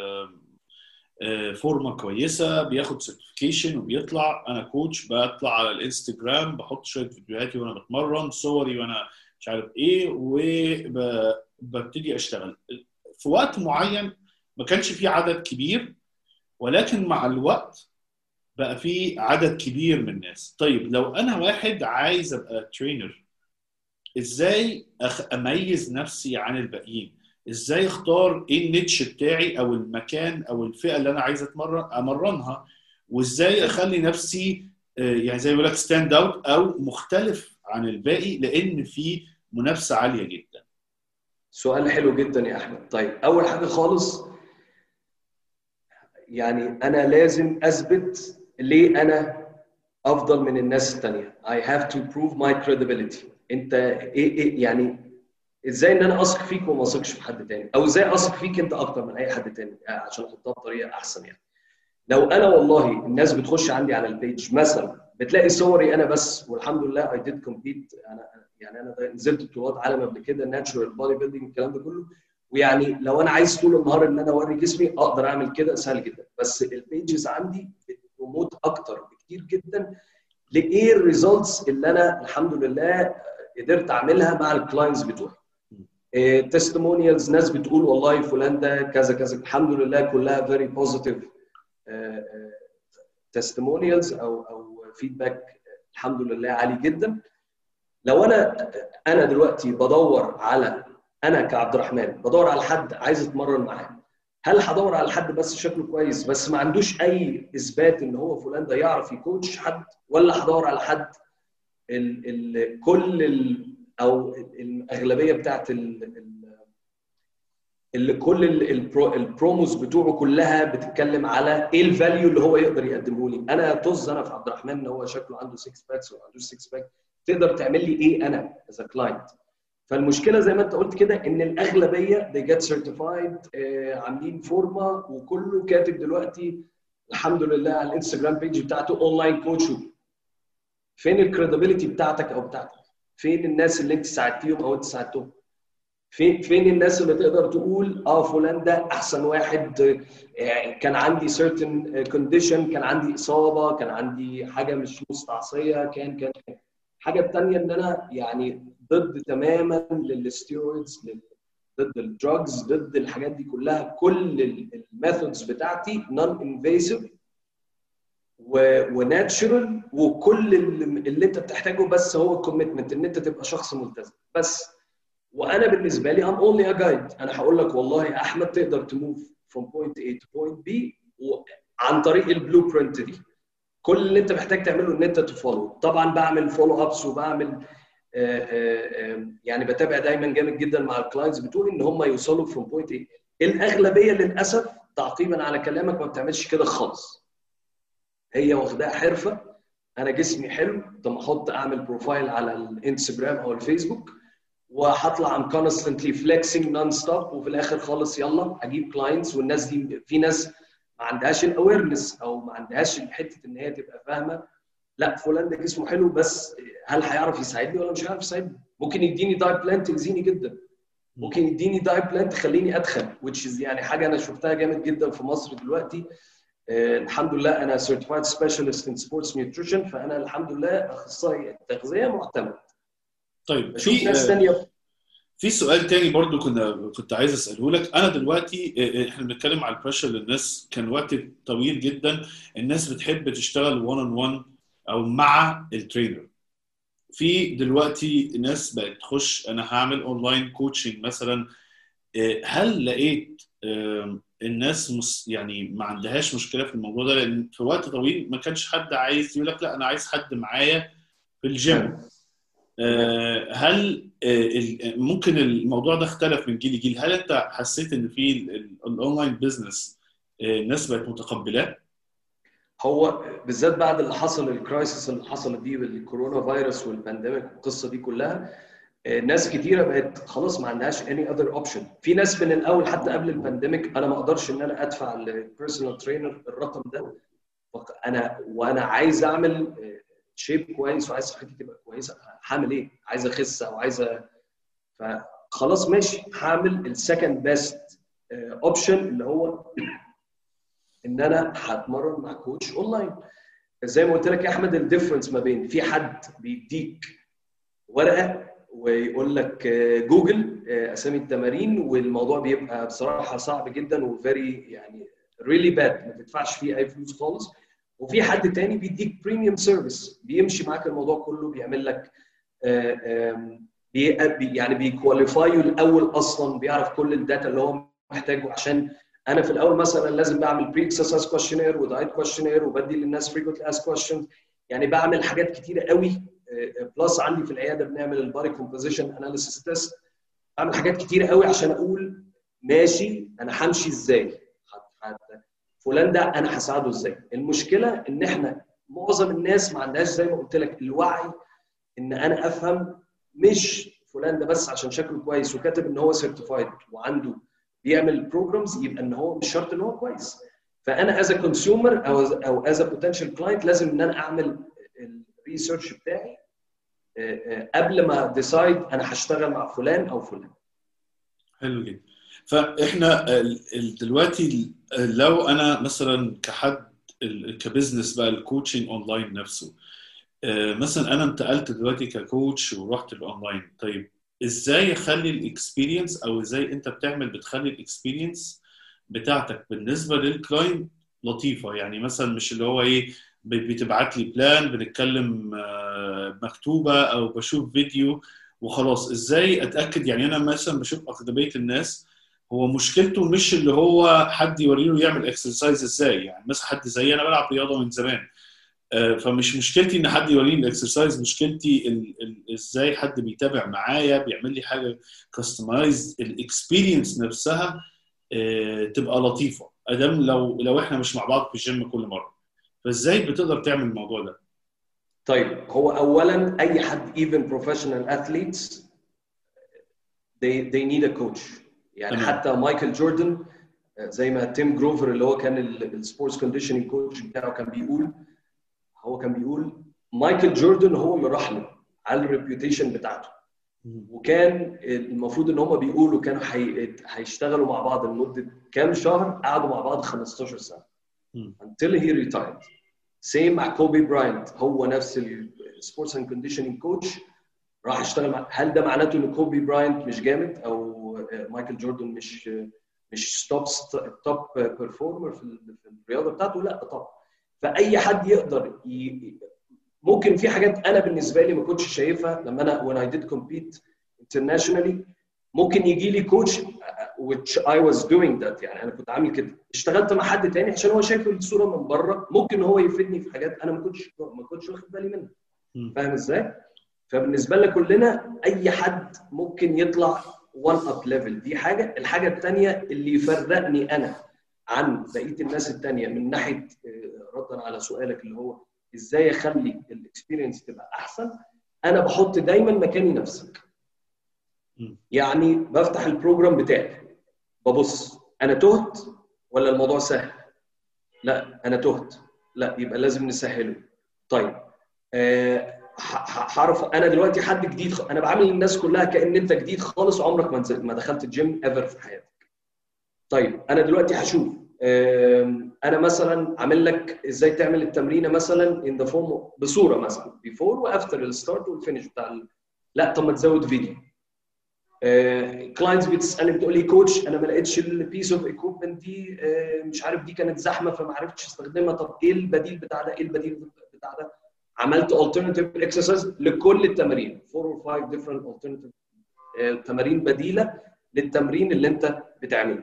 فورمه كويسه، بياخد سيرتيفيكيشن وبيطلع انا كوتش، بطلع على الانستجرام بحط شويه فيديوهاتي وانا بتمرن، صوري وانا مش عارف ايه، وببتدي اشتغل. في وقت معين ما كانش فيه عدد كبير، ولكن مع الوقت بقى فيه عدد كبير من الناس. طيب لو انا واحد عايز ابقى ترينر، ازاي اميز نفسي عن الباقيين؟ ازاي اختار ايه النيتش بتاعي او المكان او الفئه اللي انا عايز امرنها؟ وازاي اخلي نفسي يعني زي ما بيقول لك ستاند اوت او مختلف عن الباقي، لان في منافسه عاليه جدا؟ سؤال حلو جدا يا احمد. طيب اول حاجه خالص، يعني انا لازم اثبت ليه انا افضل من الناس الثانيه. I have to prove my credibility. انت ايه يعني ازاي ان انا اثق فيك وما اثقش في حد تاني، او ازاي اثق فيك انت اكتر من اي حد تاني، عشان احطها بطريقه احسن. يعني لو انا والله الناس بتخش عندي على البيج مثلا بتلاقي صوري انا بس، والحمد لله I did compete. انا نزلت بطولات عالم قبل كده، ناتشورال بودي بيلدينج الكلام ده كله، ويعني لو انا عايز طول النهار ان انا اوري جسمي اقدر اعمل كده سهل جدا. بس البيجز عندي بتبروموت اكتر بكتير جدا لايه الريزلتس اللي انا الحمد لله قدرت اعملها مع الكلاينتس بتوعي. تستمونيالز، ناس بتقول والله فلان ده كذا كذا، الحمد لله كلها فيري بوزيتيف تستمونيالز او فيدباك الحمد لله عالي جدا. لو انا دلوقتي بدور على، انا كعبد الرحمن بدور على حد عايز اتمرن معاه، هل هدور على حد بس شكله كويس بس ما عندوش اي اثبات ان هو فلان ده يعرف يكوتش حد، ولا هدور على حد او الاغلبيه بتاعت اللي كل البروموز بتوعه كلها بتتكلم على ايه الفاليو اللي هو يقدر يقدمه لي؟ انا طز انا في عبد الرحمن ان هو شكله عنده 6 باكس ولا ما عندوش 6 باك، تقدر تعمل لي ايه انا از كلاينت؟ فالمشكله زي ما انت قلت كده ان الاغلبيه they get certified، عاملين فورمه وكله كاتب دلوقتي الحمد لله على الانستجرام بيج بتاعته اونلاين كوتش. فين الكريديبيليتي بتاعتك او بتاعتك؟ فين الناس اللي انت ساعدتيهم او انت ساعدتهم؟ فين الناس اللي تقدر تقول فلان ده احسن واحد، كان عندي certain condition، كان عندي اصابه، كان عندي حاجه مش مستعصيه، كان حاجه ثانيه ان انا يعني ضد تماما للستيرويدز، ضد الدراجز، ضد الحاجات دي كلها. كل الميثودز بتاعتي نون انفيسيف وناتشرال، وكل اللي انت بتحتاجه بس هو الكوميتمنت، ان انت تبقى شخص ملتزم بس. وانا بالنسبه لي I'm only a guide. انا هقول لك والله يا احمد تقدر تموف from point A to point B عن طريق البلو برنت دي. كل اللي انت محتاج تعمله ان انت تفولو. طبعا بعمل فولو ابس وبعمل يعني بتابع دايما جامد جدا مع الكلاينتس بتوعي ان هم يوصلوا from point A. الاغلبيه للاسف تعقيبا على كلامك ما بتعملش كده خالص. هي واخداها حرفه. انا جسمي حلو، طب احط اعمل بروفايل على الانستجرام او الفيسبوك وهطلع ام كونستنتلي فليكسنج نون ستوب، وفي الاخر خالص يلا اجيب كلاينتس. والناس دي في ناس ما عندهاش الاويرنس او ما عندهاش حته ان هي تبقى فاهمه لا فلان ده جسمه حلو بس هل هيعرف يساعدني ولا مش هيعرف يساعدني. ممكن يديني دايت بلان تاذيني جدا، ممكن يديني دايت بلان تخليني ادخل which is يعني حاجه انا شفتها جامد جدا في مصر دلوقتي. الحمد لله انا certified specialist in sports nutrition، فانا الحمد لله اخصائي تغذيه معتمد. طيب في ناس ثانيه. في سؤال تاني برضو كنت عايز اساله لك. انا دلوقتي احنا بنتكلم على البريشر للناس، كان وقت طويل جدا الناس بتحب تشتغل 1 on 1 او مع الترينر. في دلوقتي ناس بقت تخش انا هعمل اونلاين كوتشنج مثلا. هل لقيت الناس يعني ما عندهاش مشكله في الموضوع ده؟ لان في وقت طويل ما كانش حد عايز يقول لك لا انا عايز حد معايا في الجيم. هل ممكن الموضوع ده اختلف من جيل لجيل؟ هل انت حسيت ان في الاونلاين بزنس الناس بقت متقبلاه؟ هو بالذات بعد اللي حصل الكرايسيس اللي حصلت دي بالكورونا فيروس والبانديميك والقصه دي كلها، ناس كتيره بقت خلاص ما عندهاش any other option. في ناس من الاول حتى قبل البانديميك انا ما اقدرش ان انا ادفع للبيرسونال ترينر الرقم ده، وانا عايز اعمل شيب كويس وعايز صحتي تبقى كويسه. هعمل ايه؟ عايز اخس او عايز فخلاص ماشي هعمل السكند بيست اوبشن اللي هو ان انا هتمرن مع كوتش اونلاين. زي ما قلت لك يا احمد الديفرنس ما بين في حد بيديك ورقه ويقول لك جوجل اسامي التمارين والموضوع بيبقى بصراحه صعب جدا وفيري يعني ريلي باد ما تدفعش فيه اي فلوس خالص. وفي حد تاني بيديك بريميوم سيرفيس بيمشي معاك الموضوع كله، بيعمل لك يعني بيكواليفايو الاول اصلا، بيعرف كل الداتا اللي هو محتاجه. عشان انا في الاول مثلا لازم بعمل بري اكسرسايز كويشنير ودايت كويشنير وبدي للناس فريكوينتلي اسك كويشنز، يعني بعمل حاجات كتيره قوي. بلس عندي في العياده بنعمل البادي كومبوزيشن اناليسيس تيست، بعمل حاجات كتيره قوي عشان اقول ماشي انا همشي ازاي، فلان ده انا هساعده ازاي. المشكله ان احنا معظم الناس ما عندهاش زي ما قلت لك الوعي ان انا افهم مش فلان ده بس عشان شكله كويس وكاتب ان هو سيرتيفايد وعنده بيعمل بروجرامز يبقى ان هو مش شرط ان هو كويس. فانا از كونسيومر او از بوتنشال كلاينت لازم ان انا اعمل الريسيرش بتاعي قبل ما ديسايد انا هشتغل مع فلان او فلان. حلو جدا. فاحنا دلوقتي لو انا مثلا كحد كبزنس بقى الكوتشنج اونلاين نفسه، مثلا انا انتقلت دلوقتي ككوتش ورحت الاونلاين، طيب ازاي اخلي الاكسبيرينس او ازاي انت بتخلي الاكسبيرينس بتاعتك بالنسبه للكلاينت لطيفه؟ يعني مثلا مش اللي هو ايه بتبعت لي بلان بنتكلم مكتوبه او بشوف فيديو وخلاص. ازاي اتاكد؟ يعني انا مثلا بشوف اغلبيه الناس هو مشكلته مش اللي هو حد يوريله يعمل اكسرسايز ازاي. يعني مثلا حد زي انا بلعب رياضه من زمان، فمش مشكلتي ان حد يوريني الاكسرسايز، مشكلتي ازاي حد بيتابع معايا بيعمل لي حاجه كاستمايز. الاكسبيرينس نفسها تبقى لطيفه ادام لو احنا مش مع بعض في الجيم كل مره. فازاي بتقدر تعمل الموضوع ده؟ طيب هو اولا اي حد even professional athletes they need a coach. يعني تمام. حتى مايكل جوردن زي ما تيم جروفر اللي هو كان السبورتس كونديشننج كوتش بتاعه كان بيقول مايكل جوردن هو اللي راح له على الريبيوتيشن بتاعته، وكان المفروض ان هم بيقولوا كانوا هيشتغلوا مع بعض لمده كام شهر، قعدوا مع بعض 15 سنه until he retired. سيم مع كوبي براينت، هو نفس السبورتس اند كونديشننج كوتش راح اشتغل مع. هل ده معناته ان كوبي براينت مش جامد او مايكل جوردن مش توب بيرفورمر في الرياضه بتاعته؟ لا طبعا. فاي حد يقدر ممكن في حاجات انا بالنسبه لي ما كنتش شايفها لما انا when I did compete internationally ممكن يجي لي كوتش which I was doing that، يعني انا كنت عامل كده، اشتغلت مع حد تاني عشان هو شايف الصوره من بره، ممكن هو يفيدني في حاجات انا ما كنتش واخد بالي منها. فاهم ازاي؟ فبالنسبه لنا كلنا اي حد ممكن يطلع one up level، دي حاجه. الحاجه الثانيه اللي يفرقني انا عن بقيه الناس الثانيه من ناحيه ردا على سؤالك اللي هو ازاي اخلي الاكسبيرينس تبقى احسن، انا بحط دايما مكاني نفسك. يعني بفتح البروجرام بتاعي ببص انا تهت ولا الموضوع سهل؟ لا انا تهت، لا يبقى لازم نسهله. طيب هعرف انا دلوقتي حد جديد، انا بعامل الناس كلها كأن انت جديد خالص عمرك ما دخلت الجيم ايفر في حياتك. طيب انا دلوقتي هشوف انا مثلا عامل لك ازاي تعمل التمرينه مثلا ان ذا فورم بصوره مثلا بيفور وافتر الستارت والفينش بتاع لا طب ما تزود فيديو. كلاينتس بتسالني بتقول لي كوتش انا ما لقيتش البيس اوف ايكويبمنت دي، مش عارف دي كانت زحمه فما عرفتش استخدمها، طب ايه البديل بتاع ده؟ ايه البديل بتاع ده؟ عملت alternative exercise لكل التمارين 4 or 5 different alternative تمارين بديله للتمرين اللي انت بتعمله.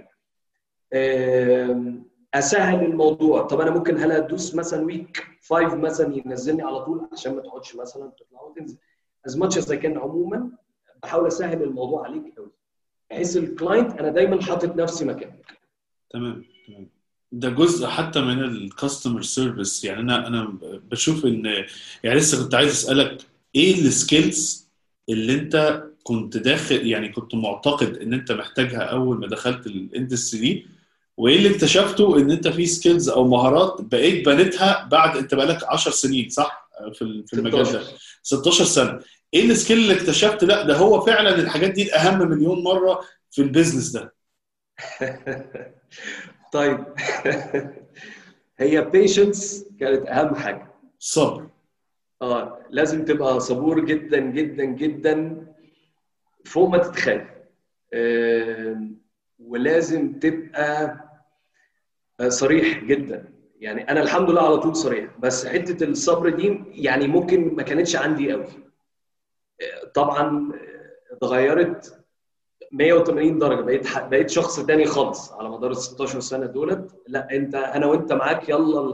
اسهل الموضوع، طب انا ممكن هل ادوس مثلا ويك 5 مثلا ينزلني على طول عشان ما تقعدش مثلا تطلع وتنزل as much as I can. عموما بحاول اسهل الموضوع عليك قوي بحيث الكلاينت انا دايما حاطط نفسي مكانك. تمام. ده جزء حتى من الكاستمر سيرفيس. يعني انا بشوف ان يعني لسه كنت عايز اسالك ايه السكيلز اللي انت كنت داخل يعني كنت معتقد ان انت محتاجها اول ما دخلت الاندستري دي، وايه اللي اكتشفته ان انت في سكيلز او مهارات بقيت بنيتها بعد انت بقالك 10 سنين صح في المجال ده 16 سنه. ايه السكيل اللي اكتشفت لا ده هو فعلا الحاجات دي الاهم مليون مره في البيزنس ده؟ طيب هي بيشنس كانت اهم حاجه. صبر. لازم تبقى صبور جدا جدا جدا فوق ما تتخيل. ولازم تبقى صريح جدا. يعني انا الحمد لله على طول صريح، بس حته الصبر دي يعني ممكن ما كانتش عندي قوي. طبعا اتغيرت 180 درجه، بقيت شخص تاني خالص على مدار ال 16 سنه دولت. لا انت انا وانت معاك يلا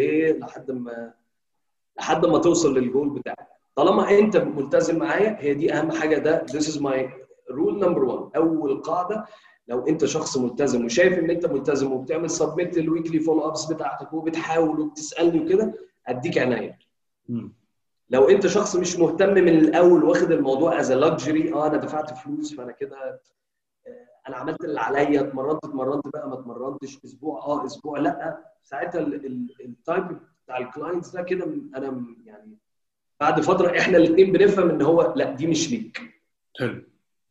لحد ما توصل للجول بتاعك. طالما انت ملتزم معايا هي دي اهم حاجه. ده this is my rule number 1. اول قاعده لو انت شخص ملتزم وشايف ان انت ملتزم وبتعمل سبميت للويكلي فولو ابس بتاعتك وبتحاول وبتسالني وكده اديك عناية. لو انت شخص مش مهتم من الاول واخد الموضوع از لاكجري، انا دفعت فلوس فانا كده انا عملت اللي عليا، اتمرنت بقى ما اتمرنتش اسبوع اسبوع لا، ساعتها التايب بتاع الكلاينتس ده كده انا يعني بعد فتره احنا الاثنين بنفهم ان هو لا دي مش ليك. حلو.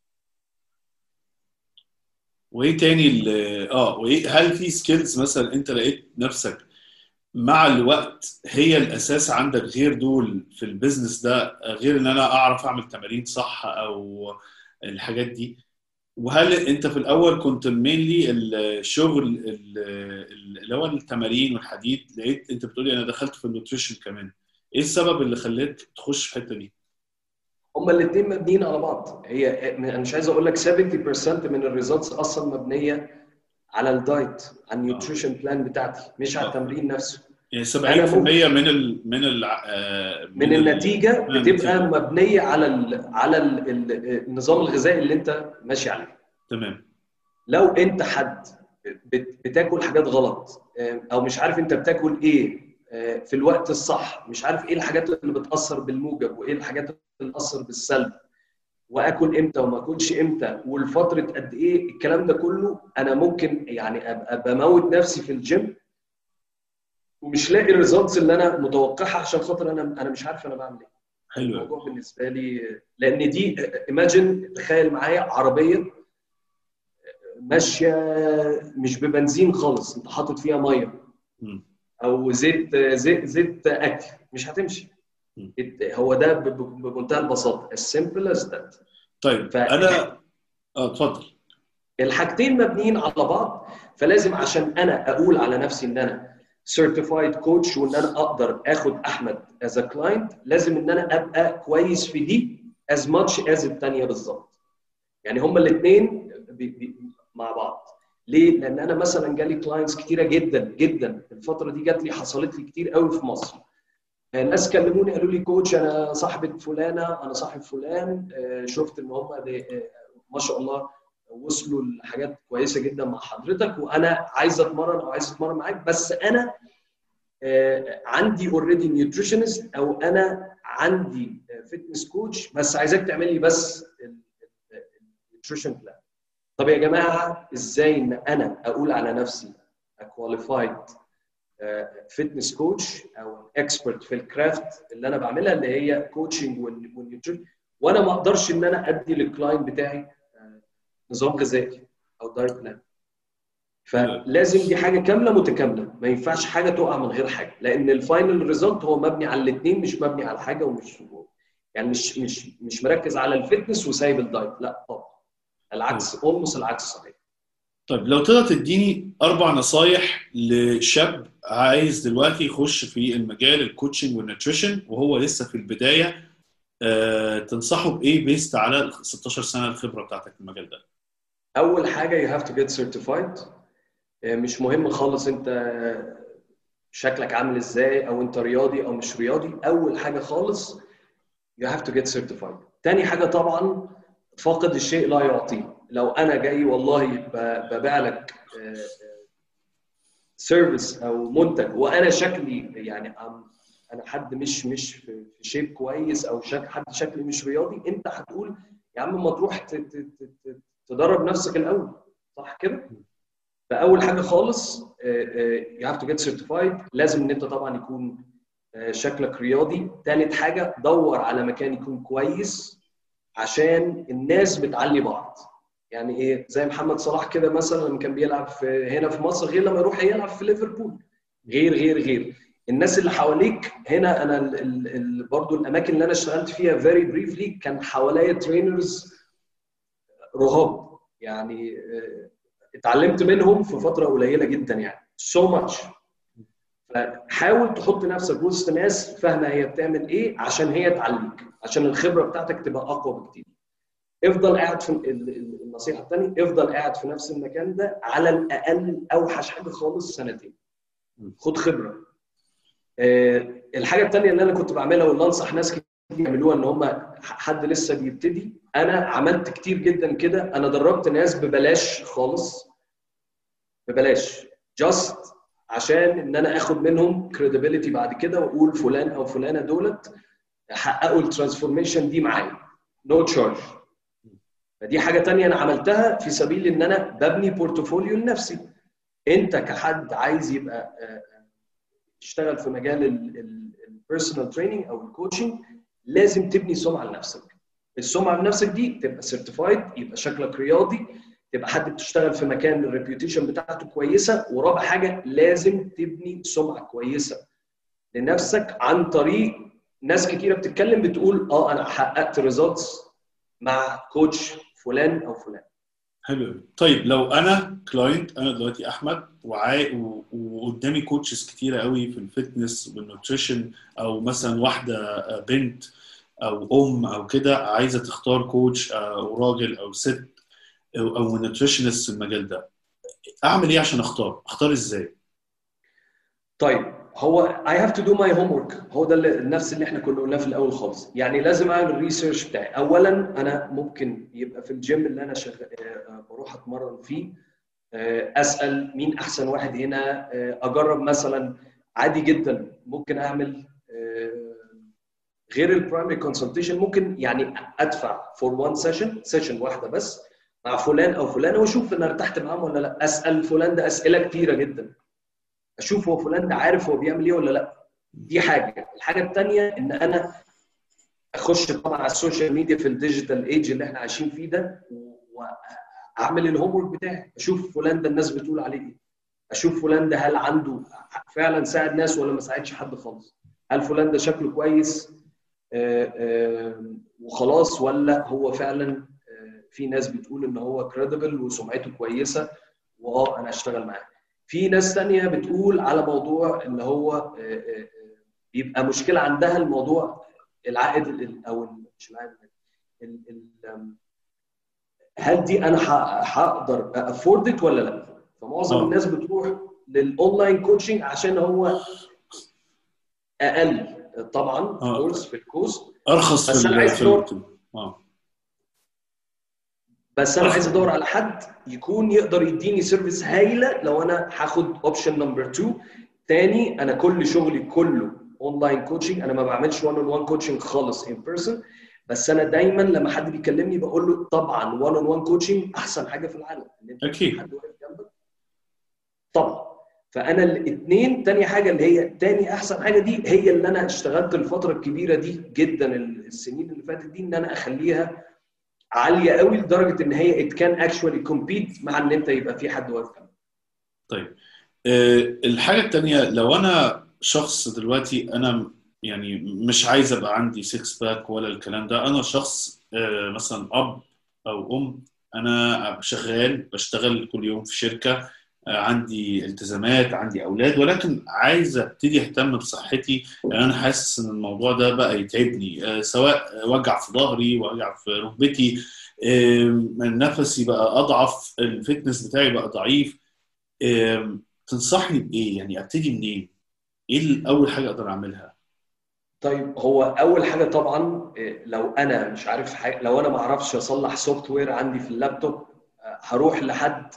وايه تاني وايه هل في سكيلز مثلا انت لقيت نفسك مع الوقت هي الاساس عندك غير دول في البيزنس ده، غير ان انا اعرف اعمل تمارين صح او الحاجات دي؟ وهل انت في الاول كنت مينلي الشغل اللي هو التمارين والحديد، لقيت انت بتقولي انا دخلت في النوتريشن كمان، ايه السبب اللي خلاك تخش في الحته دي؟ هما الاثنين مبنيين على بعض. هي انا مش عايز اقول لك 70% من الريزلتس اصلا مبنيه على الدايت، على النيوتريشن بلان بتاعتي، مش على التمرين نفسه. يعني 70% من النتيجه بتبقى مبنيه على النظام الغذائي اللي انت ماشي عليه. تمام. لو انت حد بتاكل حاجات غلط او مش عارف انت بتاكل ايه في الوقت الصح، مش عارف ايه الحاجات اللي بتاثر بالموجب وايه الحاجات اللي بتاثر بالسلب، واكل امتى وما اكلش امتى والفتره قد ايه، الكلام ده كله انا ممكن يعني ابقى بموت نفسي في الجيم ومش لاقي الريزلتس اللي انا متوقعها عشان خاطر انا مش عارف انا بعمل ايه. حلو. الموضوع بالنسبه لي لان دي ايماجن، تخيل معايا عربيه ماشيه مش ببنزين خالص، انت حاطط فيها ميه او زيت اكل، مش هتمشي. هو ده بمنتهى البساطه السمبل از ذات. طيب انا اتفضل. الحاجتين مبنيين على بعض، فلازم عشان انا اقول على نفسي ان انا certified coach وان انا اقدر اخد احمد as a client، لازم ان انا ابقى كويس في دي as much as الثانيه بالظبط. يعني هما الاثنين مع بعض. ليه؟ لان انا مثلا جالي كلاينتس كتيره جدا جدا الفتره دي، جات لي حصلت لي كتير قوي في مصر. ناس كلموني قالوا لي كوتش انا صاحبه فلانه، انا صاحب فلان، شفت ان هم ما شاء الله وصلوا لحاجات كويسه جدا مع حضرتك، وانا عايز اتمرن او عايز اتمرن معاك، بس انا عندي اوريدي نيوتريشنست او انا عندي فيتنس كوتش، بس عايزك تعمل لي بس النيوتريشن بلان. طب يا جماعه ازاي ان انا اقول على نفسي كواليفايد فيتنس كوتش او اكسبرت في الكرافت اللي انا بعملها اللي هي كوتشنج والنيوتريشن، وانا ما اقدرش ان انا ادي للكلاينت بتاعي نظام غذائي او دايت بلان؟ فلازم دي حاجه كامله متكامله، ما ينفعش حاجه تقع من غير حاجه، لان الفاينل ريزلت هو مبني على الاثنين، مش مبني على حاجه ومش يعني مش مركز على الفتنس وسايب الدايت، لا طبعا العكس، اولموست العكس صحيح. طيب لو تقدر تديني 4 نصايح لشاب عايز دلوقتي يخش في المجال الكوتشنج والنيوتريشن وهو لسه في البدايه، تنصحه بايه بيست على ال 16 سنه الخبره بتاعتك في المجال ده؟ اول حاجه you have to get certified. مش مهم خالص انت شكلك عامل ازاي او انت رياضي او مش رياضي، اول حاجه خالص you have to get certified. تاني حاجه طبعا فاقد الشيء لا يعطيه. لو انا جاي والله ببيع لك سيرفيس او منتج وانا شكلي يعني انا حد مش في شيب كويس او حد شكلي مش رياضي، انت هتقول يا عم ما تروح تدرب نفسك الاول، صح كده؟ فاول حاجه خالص you have to get certified. لازم ان انت طبعا يكون شكلك رياضي. ثالث حاجه دور على مكان يكون كويس عشان الناس بتعلي بعض. يعني ايه؟ زي محمد صلاح كده مثلا لما كان بيلعب هنا في مصر غير لما يروح يلعب في ليفربول، غير الناس اللي حواليك هنا. انا برضو الاماكن اللي انا اشتغلت فيها فيري بريفلي كان حواليا ترينرز رهاب، يعني اتعلمت منهم في فتره قليله جدا يعني so much. فحاول تحط نفسك وسط ناس فاهمه هي بتعمل ايه عشان هي تعليك، عشان الخبره بتاعتك تبقى اقوى بكتير. افضل قاعد في النصيحه الثانيه، افضل قاعد في نفس المكان ده على الاقل اوحش حاجه خالص 2 سنين، خد خبره. الحاجه الثانيه اللي انا كنت بعملها واللي انصح ناس كتير يعملوها ان هم حد لسه بيبتدي، انا عملت كتير جدا كده. انا دربت ناس ببلاش خالص، ببلاش جاست عشان ان انا اخد منهم كريديبيليتي بعد كده واقول فلان او فلانه دولت حققوا الترانسفورميشن دي معايا نو تشارج. فدي حاجه تانية انا عملتها في سبيل ان انا ببني بورتفوليو لنفسي. انت كحد عايز يبقى تشتغل في مجال البيرسونال تريننج او الكوتشنج، لازم تبني سمعه لنفسك. السمعه لنفسك دي تبقى سيرتيفايد، يبقى شكلك رياضي، تبقى حد بتشتغل في مكان الريبيوتيشن بتاعته كويسه. ورابع حاجه لازم تبني سمعه كويسه لنفسك عن طريق ناس كتيره بتتكلم بتقول انا حققت ريزلتس مع كوتش فلان او فلان. حلو. طيب لو انا كلاينت، انا دلوقتي احمد وقدامي كوتشز كتيره قوي في الفتنس والنوتريشن، او مثلا واحده بنت او او كده عايزه تختار كوتش او راجل او ست او نوتريشنست في المجال ده، اعمل ايه عشان اختار ازاي؟ طيب هو I have to do my homework. هو ده نفس اللي احنا كنا قلناه في الاول خالص. يعني لازم اعمل الريسيرش بتاعي. اولا انا ممكن يبقى في الجيم اللي انا بروح اتمرن فيه اسال مين احسن واحد هنا، اجرب مثلا. عادي جدا ممكن اعمل غير البرايمري كونسلتيشن، ممكن يعني ادفع فور وان سيشن واحده بس مع فلان او فلانه واشوف انا ارتحت معاهم ولا لا. اسال فلان ده اسئله كتيره جدا، اشوف هو فلان ده عارف هو بيعمل ايه ولا لا. دي حاجه. الحاجه الثانيه ان انا اخش طبعا على السوشيال ميديا في الديجيتال ايج اللي احنا عايشين فيه ده، واعمل الهوم ورك بتاعي، اشوف فلان ده الناس بتقول عليه ايه، اشوف فلان ده هل عنده فعلا ساعد ناس ولا ما ساعدش حد خالص، هل فلان ده شكله كويس وخلاص ولا هو فعلا في ناس بتقول ان هو كريديبل وسمعته كويسه انا اشتغل معاه. في ناس ثانيه بتقول على موضوع ان هو بيبقى مشكله عندها الموضوع العائد او مش العائد، هل دي انا هقدر افورد ولا لا. فمعظم الناس بتروح للاونلاين كوتشنج عشان هو اقل طبعا كورس في الكوست، ارخص بس في انا عايز ادور بس انا أرخص. عايز ادور على حد يكون يقدر يديني سيرفيس هايله. لو انا هاخد اوبشن نمبر 2 تاني، انا كل شغلي كله اونلاين كوتشنج، انا ما بعملش 1 on 1 كوتشنج خالص ان بيرسون. بس انا دايما لما حد بيكلمني بقول له طبعا 1 on 1 كوتشنج احسن حاجه في العالم، ان انت اكيد حد واقف جنبك طبعا. فانا الاثنين، تاني حاجه اللي هي تاني احسن حاجه دي، هي اللي انا اشتغلت الفتره الكبيره دي جدا السنين اللي فاتت دي، ان انا اخليها عاليه قوي لدرجه ان هي it can actually compete مع ان انت يبقى في حد واقف جنبك. طيب الحاجه الثانيه، لو انا شخص دلوقتي انا يعني مش عايز ابقى عندي 6 باك ولا الكلام ده، انا شخص مثلا اب او ام، انا شغال بشتغل كل يوم في شركه، عندي التزامات، عندي اولاد، ولكن عايز ابتدي اهتم بصحتي. يعني انا حاسس ان الموضوع ده بقى يتعبني، سواء وجع في ظهري، وجع في ركبتي، نفسي بقى اضعف، الفتنس بتاعي بقى ضعيف. تنصحني بايه؟ يعني ابتدي منين؟ ايه اول حاجه اقدر اعملها؟ طيب هو اول حاجه طبعا لو انا مش عارف حاجة، لو انا ما اعرفش اصلح سوفت وير عندي في اللابتوب، هروح لحد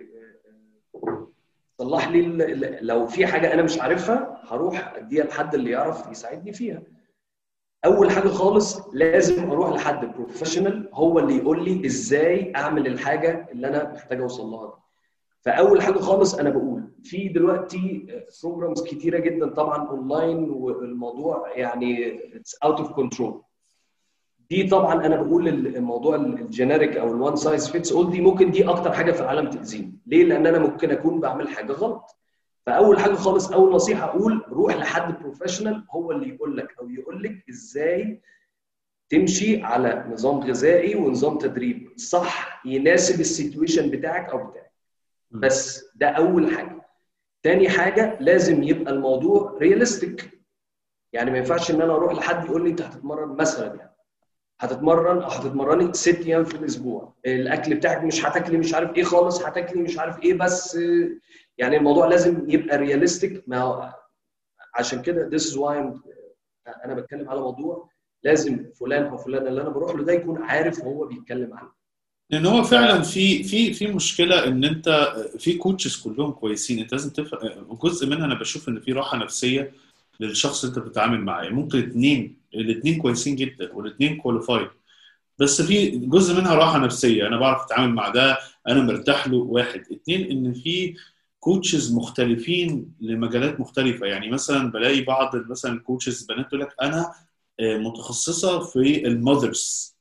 صلح لي لو في حاجه انا مش عارفها هروح اديها لحد اللي يعرف يساعدني فيها. اول حاجه خالص لازم اروح لحد بروفيشنال هو اللي يقول لي ازاي اعمل الحاجه اللي انا محتاج اوصل لها دي. فاول حاجه خالص انا بقول في دلوقتي بروجرامز كتيره جدا طبعا اونلاين، والموضوع يعني اتس اوت اوف كنترول. دي طبعا انا بقول الموضوع الجينيريك او الوان سايز فيتس اول دي ممكن دي اكتر حاجه في العالم تاذيني. ليه؟ لان انا ممكن اكون بعمل حاجه غلط. فاول حاجه خالص، اول نصيحه اقول روح لحد بروفيشنال هو اللي يقول لك او يقول لك ازاي تمشي على نظام غذائي ونظام تدريب صح يناسب السيتويشن بتاعك او بتاعك. بس ده اول حاجه. تاني حاجه لازم يبقى الموضوع رياليستيك. يعني ما ينفعش ان انا اروح لحد يقول لي انت هتتمرن مثلا، يعني هتتمرن او هتتمرني 6 ايام في الاسبوع، الاكل بتاعك مش هتاكلي مش عارف ايه خالص، هتاكلي مش عارف ايه بس. يعني الموضوع لازم يبقى رياليستيك. ما عشان كده this is why انا بتكلم على موضوع لازم فلان او فلان اللي انا بروح له ده يكون عارف هو بيتكلم عنه. لان هو فعلا في مشكله ان انت في كوتشز كلهم كويسين، انت لازم تفهم جزء منها. انا بشوف ان في راحه نفسيه للشخص اللي انت بتتعامل معاه. ممكن الاثنين كويسين جدا والاثنين كواليفايد، بس في جزء منها راحه نفسيه، انا بعرف اتعامل مع ده، انا مرتاح له. واحد اتنين، ان في كوتشز مختلفين لمجالات مختلفه. يعني مثلا بلاقي بعض مثلا الكوتشز بنات تقول لك انا متخصصه في المذرز،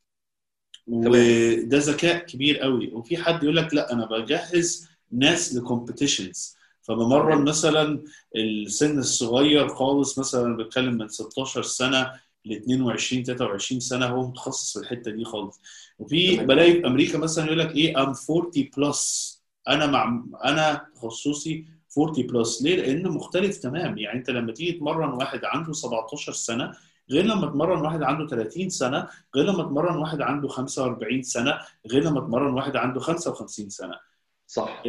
وده ذكاء كبير قوي. وفي حد يقول لك لا انا بجهز ناس لكومبيتيشنز، فبمرن مثلا السن الصغير خالص، مثلا بتكلم من 16 سنه ل 22 23 سنه، هو متخصص في الحته دي خالص. وفي بلاقي في امريكا مثلا يقول لك ايه ام 40 بلس، انا تخصصي 40 بلس. ليه؟ لان مختلف تمام. يعني انت لما تيجي تمرن واحد عنده 17 سنه غير لما تمرن واحد عنده 30 سنه، غير لما تمرن واحد عنده 45 سنه، غير لما تمرن واحد عنده 55 سنه. صح.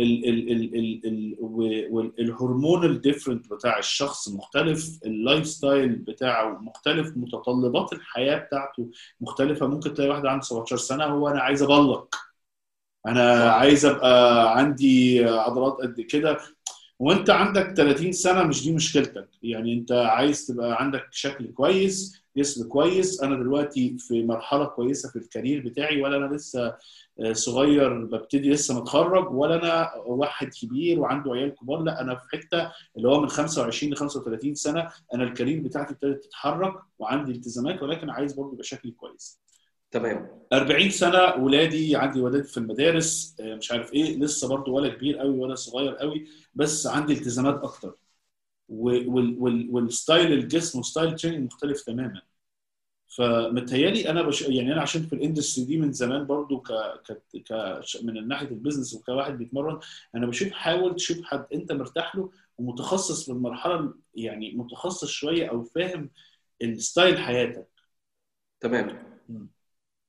الهرمونال ديفرنت بتاع الشخص مختلف، اللايف ستايل بتاعه مختلف، متطلبات الحياه بتاعته مختلفه. ممكن تلاقي واحد عنده 17 سنه هو انا عايز ابلق، انا صح. عايز ابقى عندي عضلات قد كده، وانت عندك 30 سنه مش دي مشكلتك. يعني انت عايز تبقى عندك شكل كويس، جسم كويس. انا دلوقتي في مرحله كويسه في الكارير بتاعي، ولا انا لسه صغير ببتدي لسه متخرج، ولا انا واحد كبير وعنده عيال كبار. لا، انا في حته اللي هو من 25 ل 35 سنه، انا الكارير بتاعتي ابتدت تتحرك وعندي التزامات، ولكن عايز برضه يبقى شكلي كويس. تمام. 40 سنه ولادي، عندي ولاد في المدارس، مش عارف ايه، لسه برضه ولا كبير قوي ولا صغير قوي، بس عندي التزامات اكتر. والستايل الجسم وستايل تريننج مختلف تماما. فمتهيالي انا يعني انا عشان في الاندستري دي من زمان برضو من ناحيه البيزنس وكواحد بيتمرن، انا بشوف حاول تشوف حد انت مرتاح له ومتخصص في المرحله، يعني متخصص شويه او فاهم الستايل حياتك. تمام.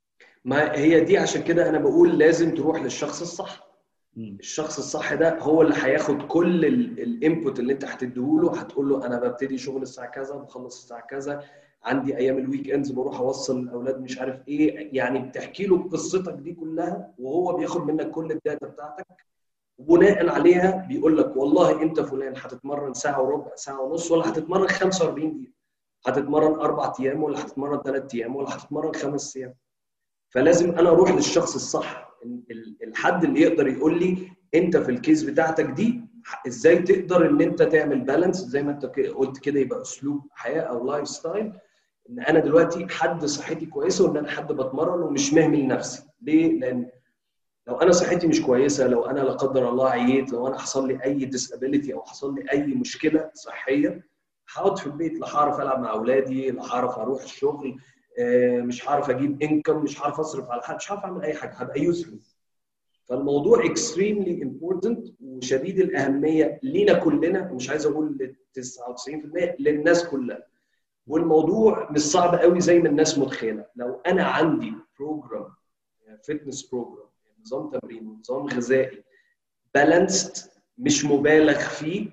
ما هي دي عشان كده انا بقول لازم تروح للشخص الصح. الشخص الصح ده هو اللي هياخد كل الانبوت اللي انت هتديهوله. هتقول له انا ببتدي شغل الساعه كذا، بخلص الساعه كذا، عندي ايام الويك اندز بروح اوصل الاولاد مش عارف ايه، يعني بتحكي له قصتك دي كلها وهو بياخد منك كل الداتا بتاعتك، وبناء عليها بيقول لك والله انت فلان هتتمرن ساعه وربع، ساعه ونص، ولا هتتمرن 45 دقيقه، هتتمرن 4 ايام ولا هتتمرن 3 ايام ولا هتتمرن 5 ايام. فلازم انا اروح للشخص الصح، الحد اللي يقدر يقول لي انت في الكيس بتاعتك دي ازاي تقدر ان انت تعمل بالانس زي ما انت قلت كده، يبقى اسلوب حياه او لايف ستايل، ان انا دلوقتي حد صحتي كويسه وان انا حد بتمرن ومش مهمل نفسي. ليه؟ لان لو انا صحتي مش كويسه، لو انا لا قدر الله عييت، لو انا حصل لي اي ديسابيليتي او حصل لي اي مشكله صحيه، هقعد في البيت، لا هعرف العب مع اولادي، لا هعرف اروح الشغل، مش هعرف اجيب انكم، مش هعرف اصرف على حد، مش هعرف اعمل اي حاجه، هبقى يوسفلس. فالموضوع extremely important وشديد الاهميه لينا كلنا، مش عايز اقول 99%، للناس كلها. والموضوع مش صعب قوي زي ما الناس متخيله. لو انا عندي بروجرام، فيتنس بروجرام، نظام تمرين ونظام غذائي بالانسد، مش مبالغ فيه،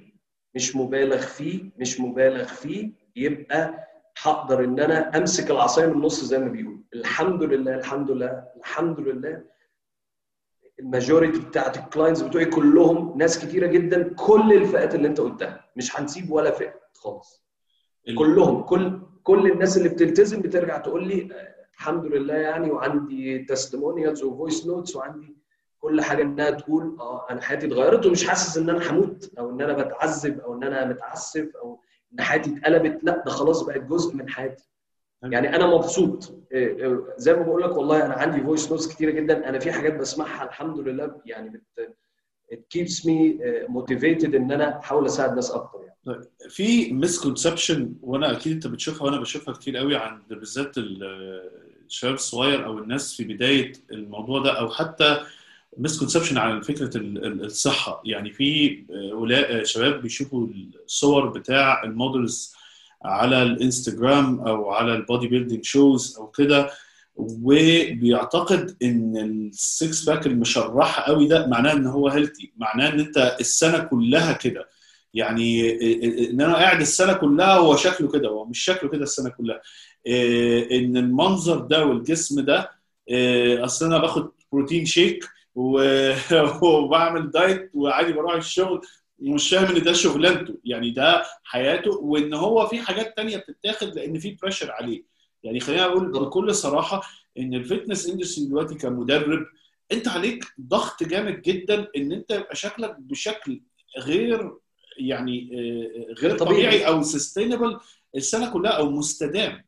مش مبالغ فيه، يبقى هقدر ان انا امسك العصايه من النص زي ما بيقولوا. الحمد لله الحمد لله الحمد لله، الماجوريتي بتاعت الكلاينتس بتوعي كلهم ناس كتيره جدا، كل الفئات اللي انت قلتها، مش هنسيب ولا فئه خالص. كلهم، كل الناس اللي بتلتزم بترجع تقول لي الحمد لله يعني، وعندي تستيمونيالز وفويس نوتس وعندي كل حاجه انها تقول انا حياتي اتغيرت ومش حاسس ان انا هموت او ان انا بتعذب او ان انا متعسف او ان حياتي اتقلبت. لا، ده خلاص بقت جزء من حياتي. يعني انا مبسوط زي ما بقول لك، والله انا عندي فويس نوتس كتيره جدا، انا في حاجات بسمعها الحمد لله يعني it keeps me motivated ان انا احاول اساعد ناس اكتر يعني. طيب، في مسكونسبشن وانا اكيد انت بتشوفها وانا بشوفها كتير قوي عند بالذات الشباب الصغير او الناس في بدايه الموضوع ده، او حتى مسكونسبشن على فكره الصحه. يعني في شباب بيشوفوا الصور بتاع المودلز على الانستجرام او على البودي بيلدينج شوز او كده، وبيعتقد ان السكس باك المشرحه قوي ده معناه ان هو هيلثي، معناه ان انت السنه كلها كده. يعني ان انا قاعد السنه كلها هو شكله كده، هو مش شكله كده السنه كلها. ان المنظر ده والجسم ده، اصل انا باخد بروتين شيك وبعمل دايت وعادي بروح الشغل، مش فاهم ان ده شغلانته، يعني ده حياته، وان هو في حاجات تانية بتتاخد لان في بريشر عليه. يعني خلينا اقول بكل صراحه ان الفيتنس اندستري دلوقتي كمدرب انت عليك ضغط جامد جدا ان انت يبقى شكلك بشكل غير يعني غير طبيعي او سستينبل السنه كلها او مستدام.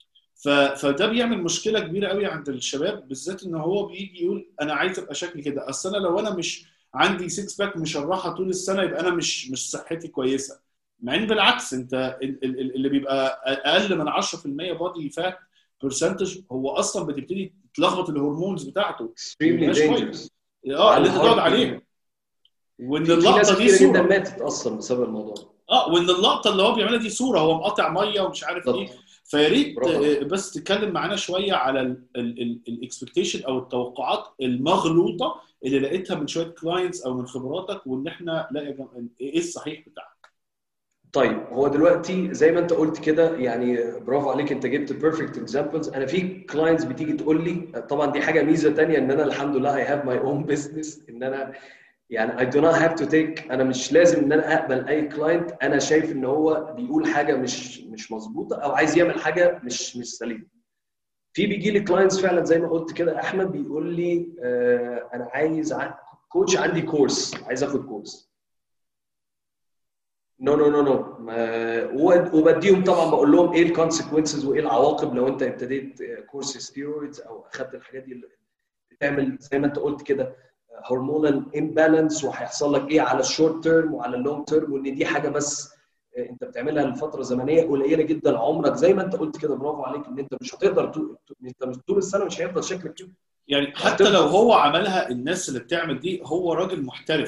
فده بيعمل مشكله كبيره قوي عند الشباب بالذات، ان هو بيجي يقول انا عايز ابقى شكلي كده، اصل انا لو انا مش عندي 6 باك مشرحه طول السنه يبقى انا مش صحتي كويسه. مع ان بالعكس، انت اللي بيبقى اقل من 10% بودي فات برسنتج هو اصلا بتبتدي تلخبط الهرمونز بتاعته extremely dangerous اللي انت تقعد عليها. وان اللقطه دي صوره جدا ماتت اصلا بسبب الموضوع. وان اللقطه اللي هو بيعملها دي صوره هو مقاطع ميه ومش عارف ايه. فيا ريت بس تتكلم معانا شويه على الاكسبكتيشن او التوقعات المغلوطه اللي لقيتها من شويه كلاينتس او من خبراتك، وان احنا لا ايه الصحيح بتاعك. طيب، هو دلوقتي زي ما انت قلت كده، يعني برافو عليك، انت جبت بيرفكت اكزامبلز. انا في كلاينتس بتيجي تقول لي، طبعا دي حاجه ميزه ثانيه ان انا الحمد لله I have my own business، ان انا يعني I do not have to take، انا مش لازم ان انا اقبل اي كلاينت انا شايف ان هو بيقول حاجه مش مظبوطه او عايز يعمل حاجه مش سليمه. في بيجي لي كلاينتس فعلا زي ما قلت كده احمد، بيقول لي انا عايز كوتش، عندي كورس، عايز اخد كورس. نو وبديهم طبعا، بقول لهم ايه الكونسيكونسز وايه العواقب لو انت ابتديت كورس ستيرويدز او اخذت الحاجات دي اللي بتعمل زي ما انت قلت كده هرمونال امبالانس، وهيحصل لك ايه على الشورت تيرم وعلى اللونج تيرم، وان دي حاجه بس انت بتعملها لفتره زمنيه قليله جدا. عمرك زي ما انت قلت كده، برافو عليك، ان انت مش هتقدر انت مش طول السنه مش هيفضل شكلك كده. يعني حتى لو هو عملها، الناس اللي بتعمل دي هو راجل محترف،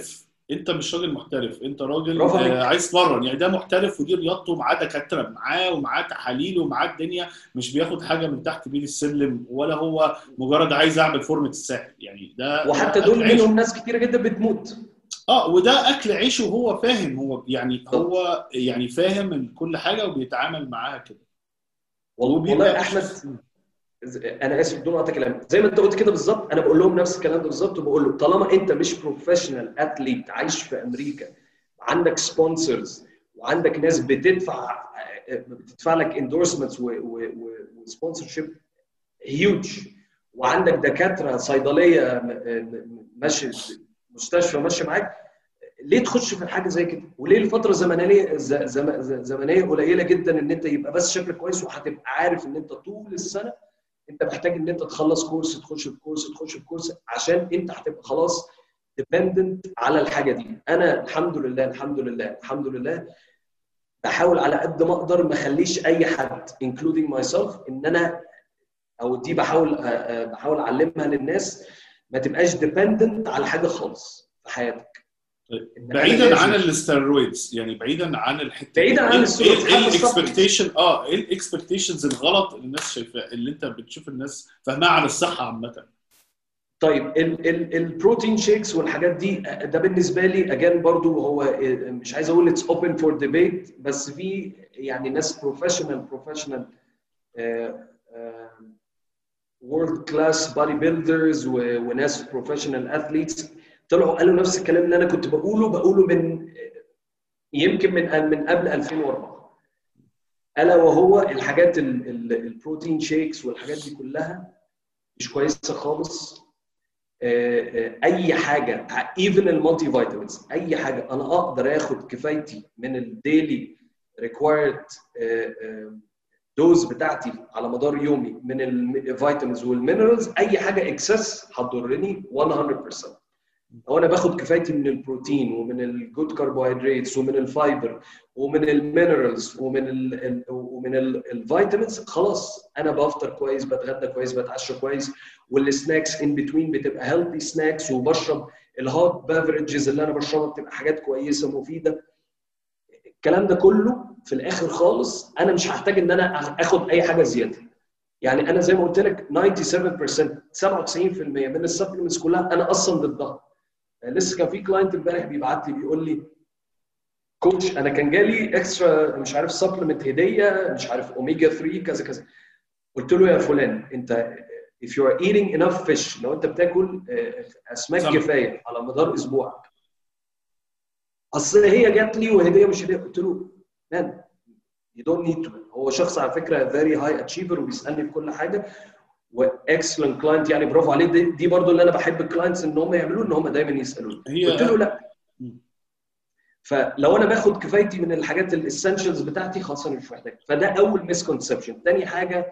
انت مش راجل محترف، انت راجل برافو عليك. عايز تمرن. يعني ده محترف ودي رياضته، معاه دكاتره معاه ومعاه تحاليل ومعاه الدنيا، مش بياخد حاجه من تحت بيد السلم، ولا هو مجرد عايز اعمل فورمه الساحل. يعني ده وحتى اكل دول عيشه. منهم ناس كتيره جدا بتموت. وده اكل عيشه، وهو فاهم، هو يعني بالظبط. هو يعني فاهم من كل حاجه وبيتعامل معاها كده، والله وبيبقى يا ماشي. احمد، انا اسف بدون قطع كلام، زي ما انت قلت كده بالظبط، انا بقول لهم نفس الكلام ده بالظبط، وبقول له طالما انت مش بروفيشنال اثليت عايش في امريكا، عندك سبونسرز وعندك ناس بتدفع لك اندورسمنتس وسبونسرشيب هيوج، وعندك دكاتره صيدليه ماشي، مستشفى ماشي معاك، ليه تخش في حاجه زي كده؟ وليه الفتره زمنيه قليله جدا ان انت يبقى بس شكلك كويس، وهتبقى عارف ان انت طول السنه انت محتاج ان انت تخلص كورس، تخش في كورس، تخش في كورس، عشان انت هتبقى خلاص ديبندنت على الحاجه دي. انا الحمد لله الحمد لله الحمد لله بحاول على قد ما اقدر ما اخليش اي حد including myself ان انا، او دي بحاول اعلمها للناس، ما تبقاش ديبندنت على حاجه خالص في حياتك. بعيدا عن الاستيرويدز، يعني بعيدا عن الحته بعيدا عن الاستيرويدز، ايه الاكسبكتيشن، ايه الاكسبكتيشنز الغلط اللي الناس شايفاه، اللي انت بتشوف الناس فاهمها عن الصحه عامه؟ طيب البروتين شيكس والحاجات دي، ده بالنسبه لي اجان برضو هو مش عايز اقول اتس اوبن فور ديبيت، بس في يعني ناس بروفيشنال وورلد كلاس بادي بيلدرز وناس بروفيشنال اثليتس طلعوا قالوا نفس الكلام اللي انا كنت بقوله من يمكن من قبل 2004، الا وهو الحاجات البروتين شيكس والحاجات دي كلها مش كويسه خالص. اي حاجه ايفن المالتي فيتامينز، اي حاجه انا اقدر اخد كفايتي من الديلي ريكوايرد دوز بتاعتي على مدار يومي من الفيتامينز والمينرالز، اي حاجه اكسس هتضرني 100%. لو انا باخد كفايتي من البروتين ومن الجود كربوهيدراتس ومن الفايبر ومن المينرالز ومن الفيتامينز، خلاص انا بفطر كويس، بتغدى كويس، بتعشى كويس، والسناكس ان بتوين بتبقى هيلثي سناكس، وبشرب الهوت بافرجز اللي انا بشربها بتبقى حاجات كويسه مفيده. الكلام ده كله في الاخر خالص انا مش هحتاج ان انا اخد اي حاجه زياده. يعني انا زي ما قلت لك 97% من السبلمنتس كلها انا اصلا ضدها. لسه كان في كلاينت امبارح بيبعت لي بيقول لي كوتش انا كان جالي اكسترا مش عارف سبلمنت هديه، مش عارف اوميجا 3 كذا كذا. قلت له يا فلان انت if you are eating enough fish، لو انت بتاكل اسماك كفايه على مدار اسبوعك، اصل هي جات لي وهديه مش هديه. قلت له مان you don't need to. هو شخص على فكره very high achiever وبيسالني في كل حاجه واكسلنت كلاينت، يعني برافو عليه. دي برضو اللي انا بحب الكلاينتس ان هم يعملوه، ان هم دايما يسالوني. قلت له لا، فلو انا باخد كفايتي من الحاجات الاسنشالز بتاعتي خلاص انا مش محتاج. فده اول مسكونسبشن. تاني حاجه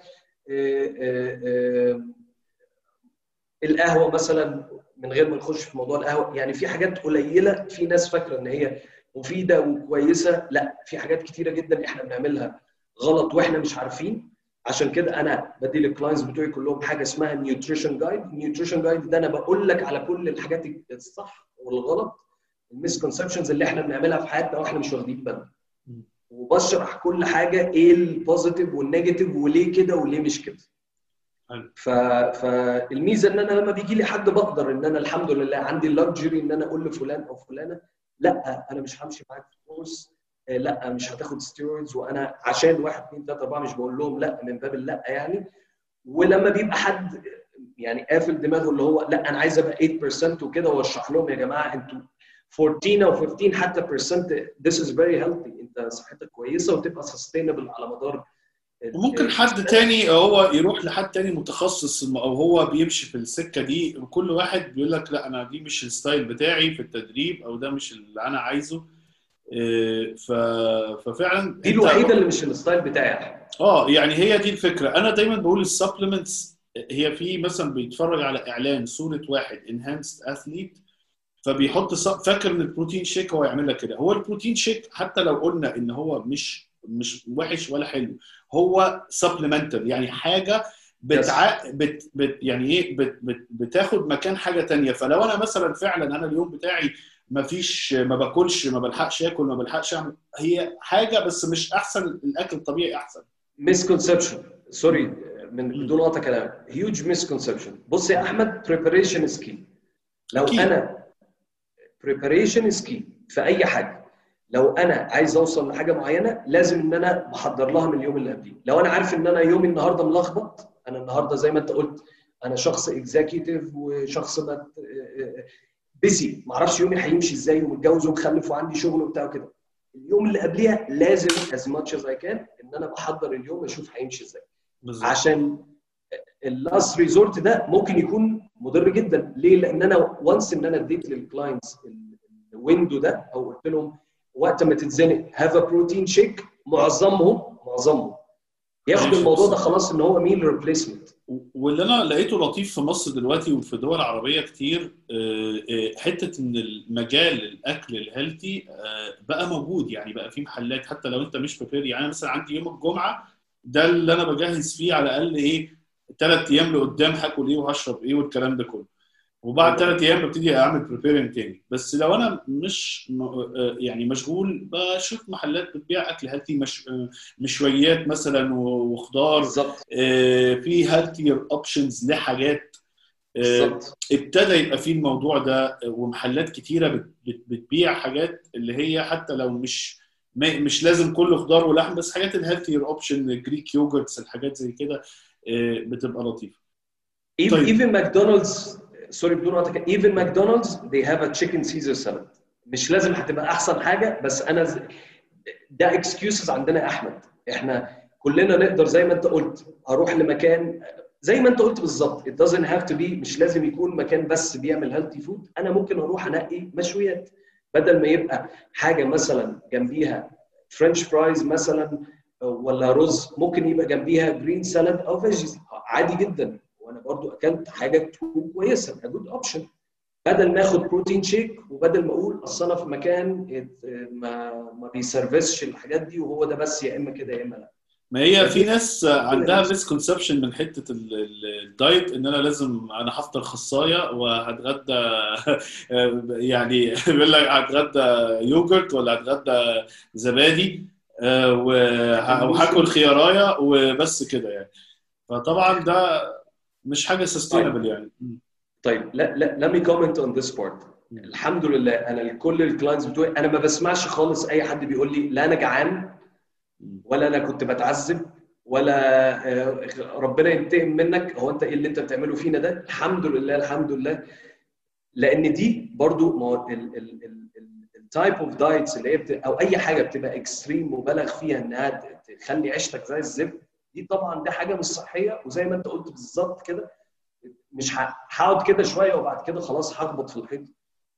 القهوه مثلا، من غير ما نخش في موضوع القهوه، يعني في حاجات قليله في ناس فاكره ان هي مفيده وكويسه، لا، في حاجات كتيره جدا احنا بنعملها غلط واحنا مش عارفين. عشان كده انا بدي للكلاينتس بتوعي كلهم حاجه اسمها نيوتريشن جايد. النيوتريشن جايد ده انا بقول لك على كل الحاجات الصح والغلط، المسكونسبشنز اللي احنا بنعملها في حياتنا واحنا مش واخدين بالنا، وبشرح كل حاجه ايه البوزيتيف والنيجاتيف وليه كده وليه مش كده. فالميزه ان انا لما بيجي لي حد بقدر ان انا الحمد لله عندي اللكجري ان انا اقول لفلان او فلانه لا انا مش همشي معاك في كورس، لا مش هتاخد ستيرويدز، وانا عشان 1 2 3 4 مش بقول لهم لا من باب اللا يعني. ولما بيبقى حد يعني قافل دماغه اللي هو لا انا عايز ابقى 8% وكده، واشرح لهم يا جماعه انتوا 14 او 15 حتى % this is very healthy، انت صحتك كويسه وتبقى sustainable على مدار. وممكن حد تاني هو يروح لحد تاني متخصص او هو بيمشي في السكه دي، وكل واحد بيقول لك لا انا دي مش الستايل بتاعي في التدريب، او ده مش اللي انا عايزه. ففعلا دي الوحيده اللي مش الستايل بتاعي. يعني هي دي الفكره. انا دايما بقول السبلمنتس هي في مثلا بيتفرج على اعلان صوره واحد انهانسد اثليت، فبيحط فاكر ان البروتين شيك هو يعمل لك كده. هو البروتين شيك حتى لو قلنا ان هو مش وحش ولا حلو، هو سبلمنتال، يعني حاجه يعني ايه بتاخد مكان حاجه تانية. فلو انا مثلا فعلا انا اليوم بتاعي ما باكلش، ما بلحقش اكل، ما بلحقش اعمل. هي حاجه بس مش احسن، الاكل الطبيعي احسن. مسكونسبشن، سوري من بدون قطع كلام، هيوج مسكونسبشن. بص يا احمد، بريباريشن از كي. لو أكيد. انا بريباريشن از كي في اي حاجه. لو انا عايز اوصل لحاجه معينه لازم ان انا بحضر لها من اليوم اللي قبليه. لو انا عارف ان انا يومي النهارده ملخبط، انا النهارده زي ما انت قلت انا شخص اكزيكتيف وشخص بيسي، ما اعرفش يومي هيمشي ازاي، ومتجوز ومخلف وعندي شغل وبتاع وكده، اليوم اللي قبليها لازم as much as I can ان انا بحضر اليوم اشوف هيمشي ازاي. بالظبط. عشان اللاست ريزورت ده ممكن يكون مضر جدا. ليه؟ لان انا وانس ان انا اديت للكلاينتس الويندو ده او قلت لهم وقت ما تتزنق هاف ا بروتين شيك، معظمهم ياخد الموضوع ده خلاص ان هو ميل ريبليسمنت. واللي انا لقيته لطيف في مصر دلوقتي وفي دول عربيه كتير، حته ان المجال الاكل الهيلثي بقى موجود. يعني بقى في محلات حتى لو انت مش بريبير. يعني انا مثلا عندي يوم الجمعه ده اللي انا بجهز فيه على الاقل ايه 3 ايام لقدام هاكل ايه وهشرب ايه والكلام ده كله. وبعد 3 ايام ببتدي اعمل بريبيرنج تاني. بس لو انا مش يعني مشغول بشوف محلات بتبيع اكل هيلثي، مشويات مثلا وخضار في هيلثير اوبشنز لحاجات. ابتدى يبقى في الموضوع ده، ومحلات كتيره بتبيع حاجات اللي هي حتى لو مش لازم كله خضار ولحم، بس حاجات الهيلثير اوبشن، جريك يوجرتس، الحاجات زي كده بتبقى لطيفه. even McDonald's، سوري بدون قطع، even McDonald's they have a chicken Caesar salad. مش لازم هتبقى احسن حاجه، بس انا ده excuses عندنا يا احمد. احنا كلنا نقدر زي ما انت قلت اروح لمكان زي ما انت قلت بالظبط. it doesn't have to be، مش لازم يكون مكان بس بيعمل healthy food. انا ممكن اروح انقي مشويات بدل ما يبقى حاجه مثلا جنبيها فرنش فرايز مثلا ولا رز، ممكن يبقى جنبيها جرين سالاد او فيجيز عادي جدا، وانا برضو اكلت حاجه تكون كويسه، a good option. بدل ما اخد بروتين شيك وبدل ما اقول اصل انا في مكان ما بيسرفسش الحاجات دي وهو ده بس، يا اما كده يا اما لا. ما هي في ناس عندها مسكونسبشن من حته الدايت، ان انا لازم انا هفطر خصايه وهتغدى يعني بيقول لك هتغدى يوجرت ولا هتغدى زبادي وهاكل خيارايه وبس كده يعني. فطبعا ده مش حاجه سستينبل يعني. طيب لا let me comment on this part. الحمد لله انا كل الكلاينتس بتوعي انا ما بسمعش خالص اي حد بيقول لي لا انا جعان ولا انا كنت بتعذب ولا ربنا ينتقم منك، هو انت ايه اللي انت بتعمله فينا ده. الحمد لله الحمد لله. لان دي برضو التايب اوف دايتس اللي هي او اي حاجه بتبقى اكستريم مبالغ فيها انها تخلي عيشتك زي الزبد، دي طبعا دي حاجه مش صحيه. وزي ما انت قلت بالظبط كده، مش هقعد كده شويه وبعد كده خلاص هخبط في الحيط.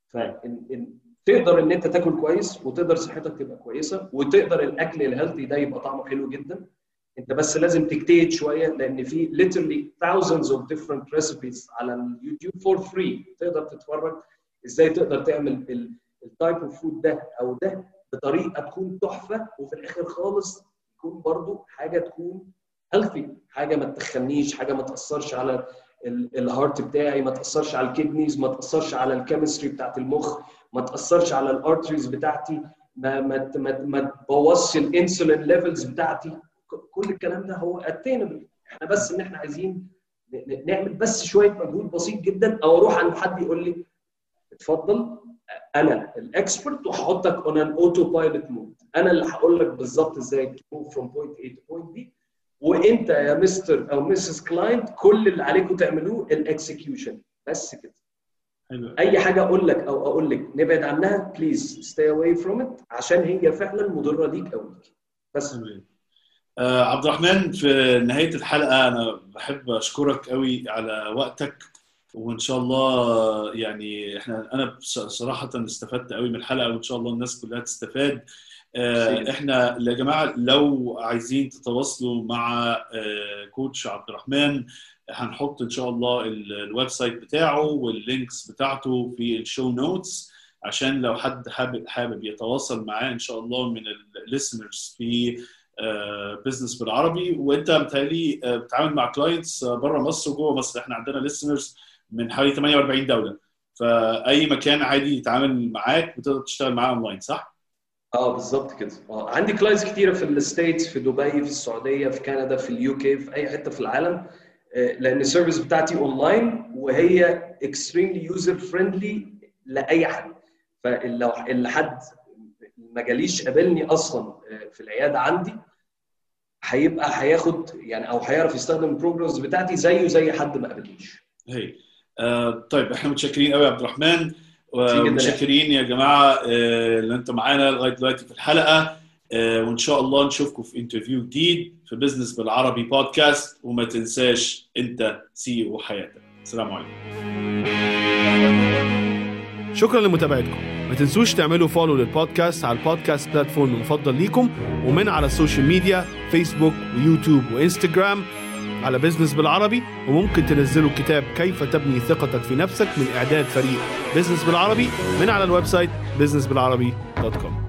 تقدر ان انت تاكل كويس وتقدر صحتك تبقى كويسه وتقدر الاكل الهيلثي ده يبقى طعمه حلو جدا. انت بس لازم تجتهد شويه، لان في literally thousands of different recipes على اليوتيوب for free تقدر تتفرج ازاي تقدر تعمل التايب اوف فود ده او ده بطريقه تكون تحفه، وفي الاخر خالص تكون برضو حاجه تكون هيلثي، حاجه ما تخنيش، حاجه ما تاثرش على الهارت بتاعي، ما تاثرش على الكدنيز، ما تاثرش على الكيمستري بتاعت المخ، ما تاثرش على الارتريز بتاعتي، ما تبوظش الانسولين ليفلز بتاعتي. كل الكلام ده هو اتينبل. احنا بس ان احنا عايزين نعمل بس شويه مجهود بسيط جدا، او اروح عند حد يقول لي اتفضل انا الاكسبرت وهحطك اون ان اوتو بايلوت مود، انا اللي هقول لك بالظبط ازاي تموف فروم بوينت A تو بوينت B، وانت يا مستر او مسز كلاينت كل اللي عليكم تعملوه الاكسكيوشن بس كده. اي حاجه اقول لك او اقول لك نبعد عنها بليز ستي اواي فروم ات، عشان هي فعلا مضره ليك او ليك بس. عبد الرحمن، في نهايه الحلقه انا بحب اشكرك قوي على وقتك، وان شاء الله يعني انا صراحه استفدت قوي من الحلقه، وان شاء الله الناس كلها تستفاد. احنا يا جماعه لو عايزين تتواصلوا مع كوتش عبد الرحمن هنحط ان شاء الله الويب سايت بتاعه واللينكس بتاعته في الشو نوتس، عشان لو حد حابب يتواصل معاه ان شاء الله من الليسنرز في بزنس بالعربي. وانت بتهيألي بتتعامل مع كلاينتس بره مصر وجوه مصر، احنا عندنا ليسنرز من حوالي 48 دوله، فاي مكان عادي يتعامل معاك بتقدر تشتغل معاه اونلاين، صح؟ بالظبط كده. عندي كلاينتس كتيره في الستيتس، في دبي، في السعوديه، في كندا، في اليو كي، في اي حته في العالم، لان السيرفيس بتاعتي اونلاين وهي اكستريملي يوزر فريندلي لاي حد. فلو اللي حد ما جاليش قابلني اصلا في العياده عندي هياخد يعني او هيعرف يستخدم البروجرامز بتاعتي زيه زي حد ما قابلنيش. هي طيب احنا متشكرين قوي يا عبد الرحمن، ومتشكرين يا جماعه اللي انتم معانا لغايه دلوقتي في الحلقه، وان شاء الله نشوفكم في انترفيو جديد في بزنس بالعربي بودكاست. وما تنساش انت سي او حياتك. السلام عليكم. شكرا لمتابعتكم. ما تنسوش تعملوا فولو للبودكاست على البودكاست بلاتفورم المفضل ليكم، ومن على السوشيال ميديا فيسبوك ويوتيوب وإنستغرام على بزنس بالعربي. وممكن تنزلوا كتاب كيف تبني ثقتك في نفسك من إعداد فريق بزنس بالعربي من على الويب سايت businessbilarabi.com.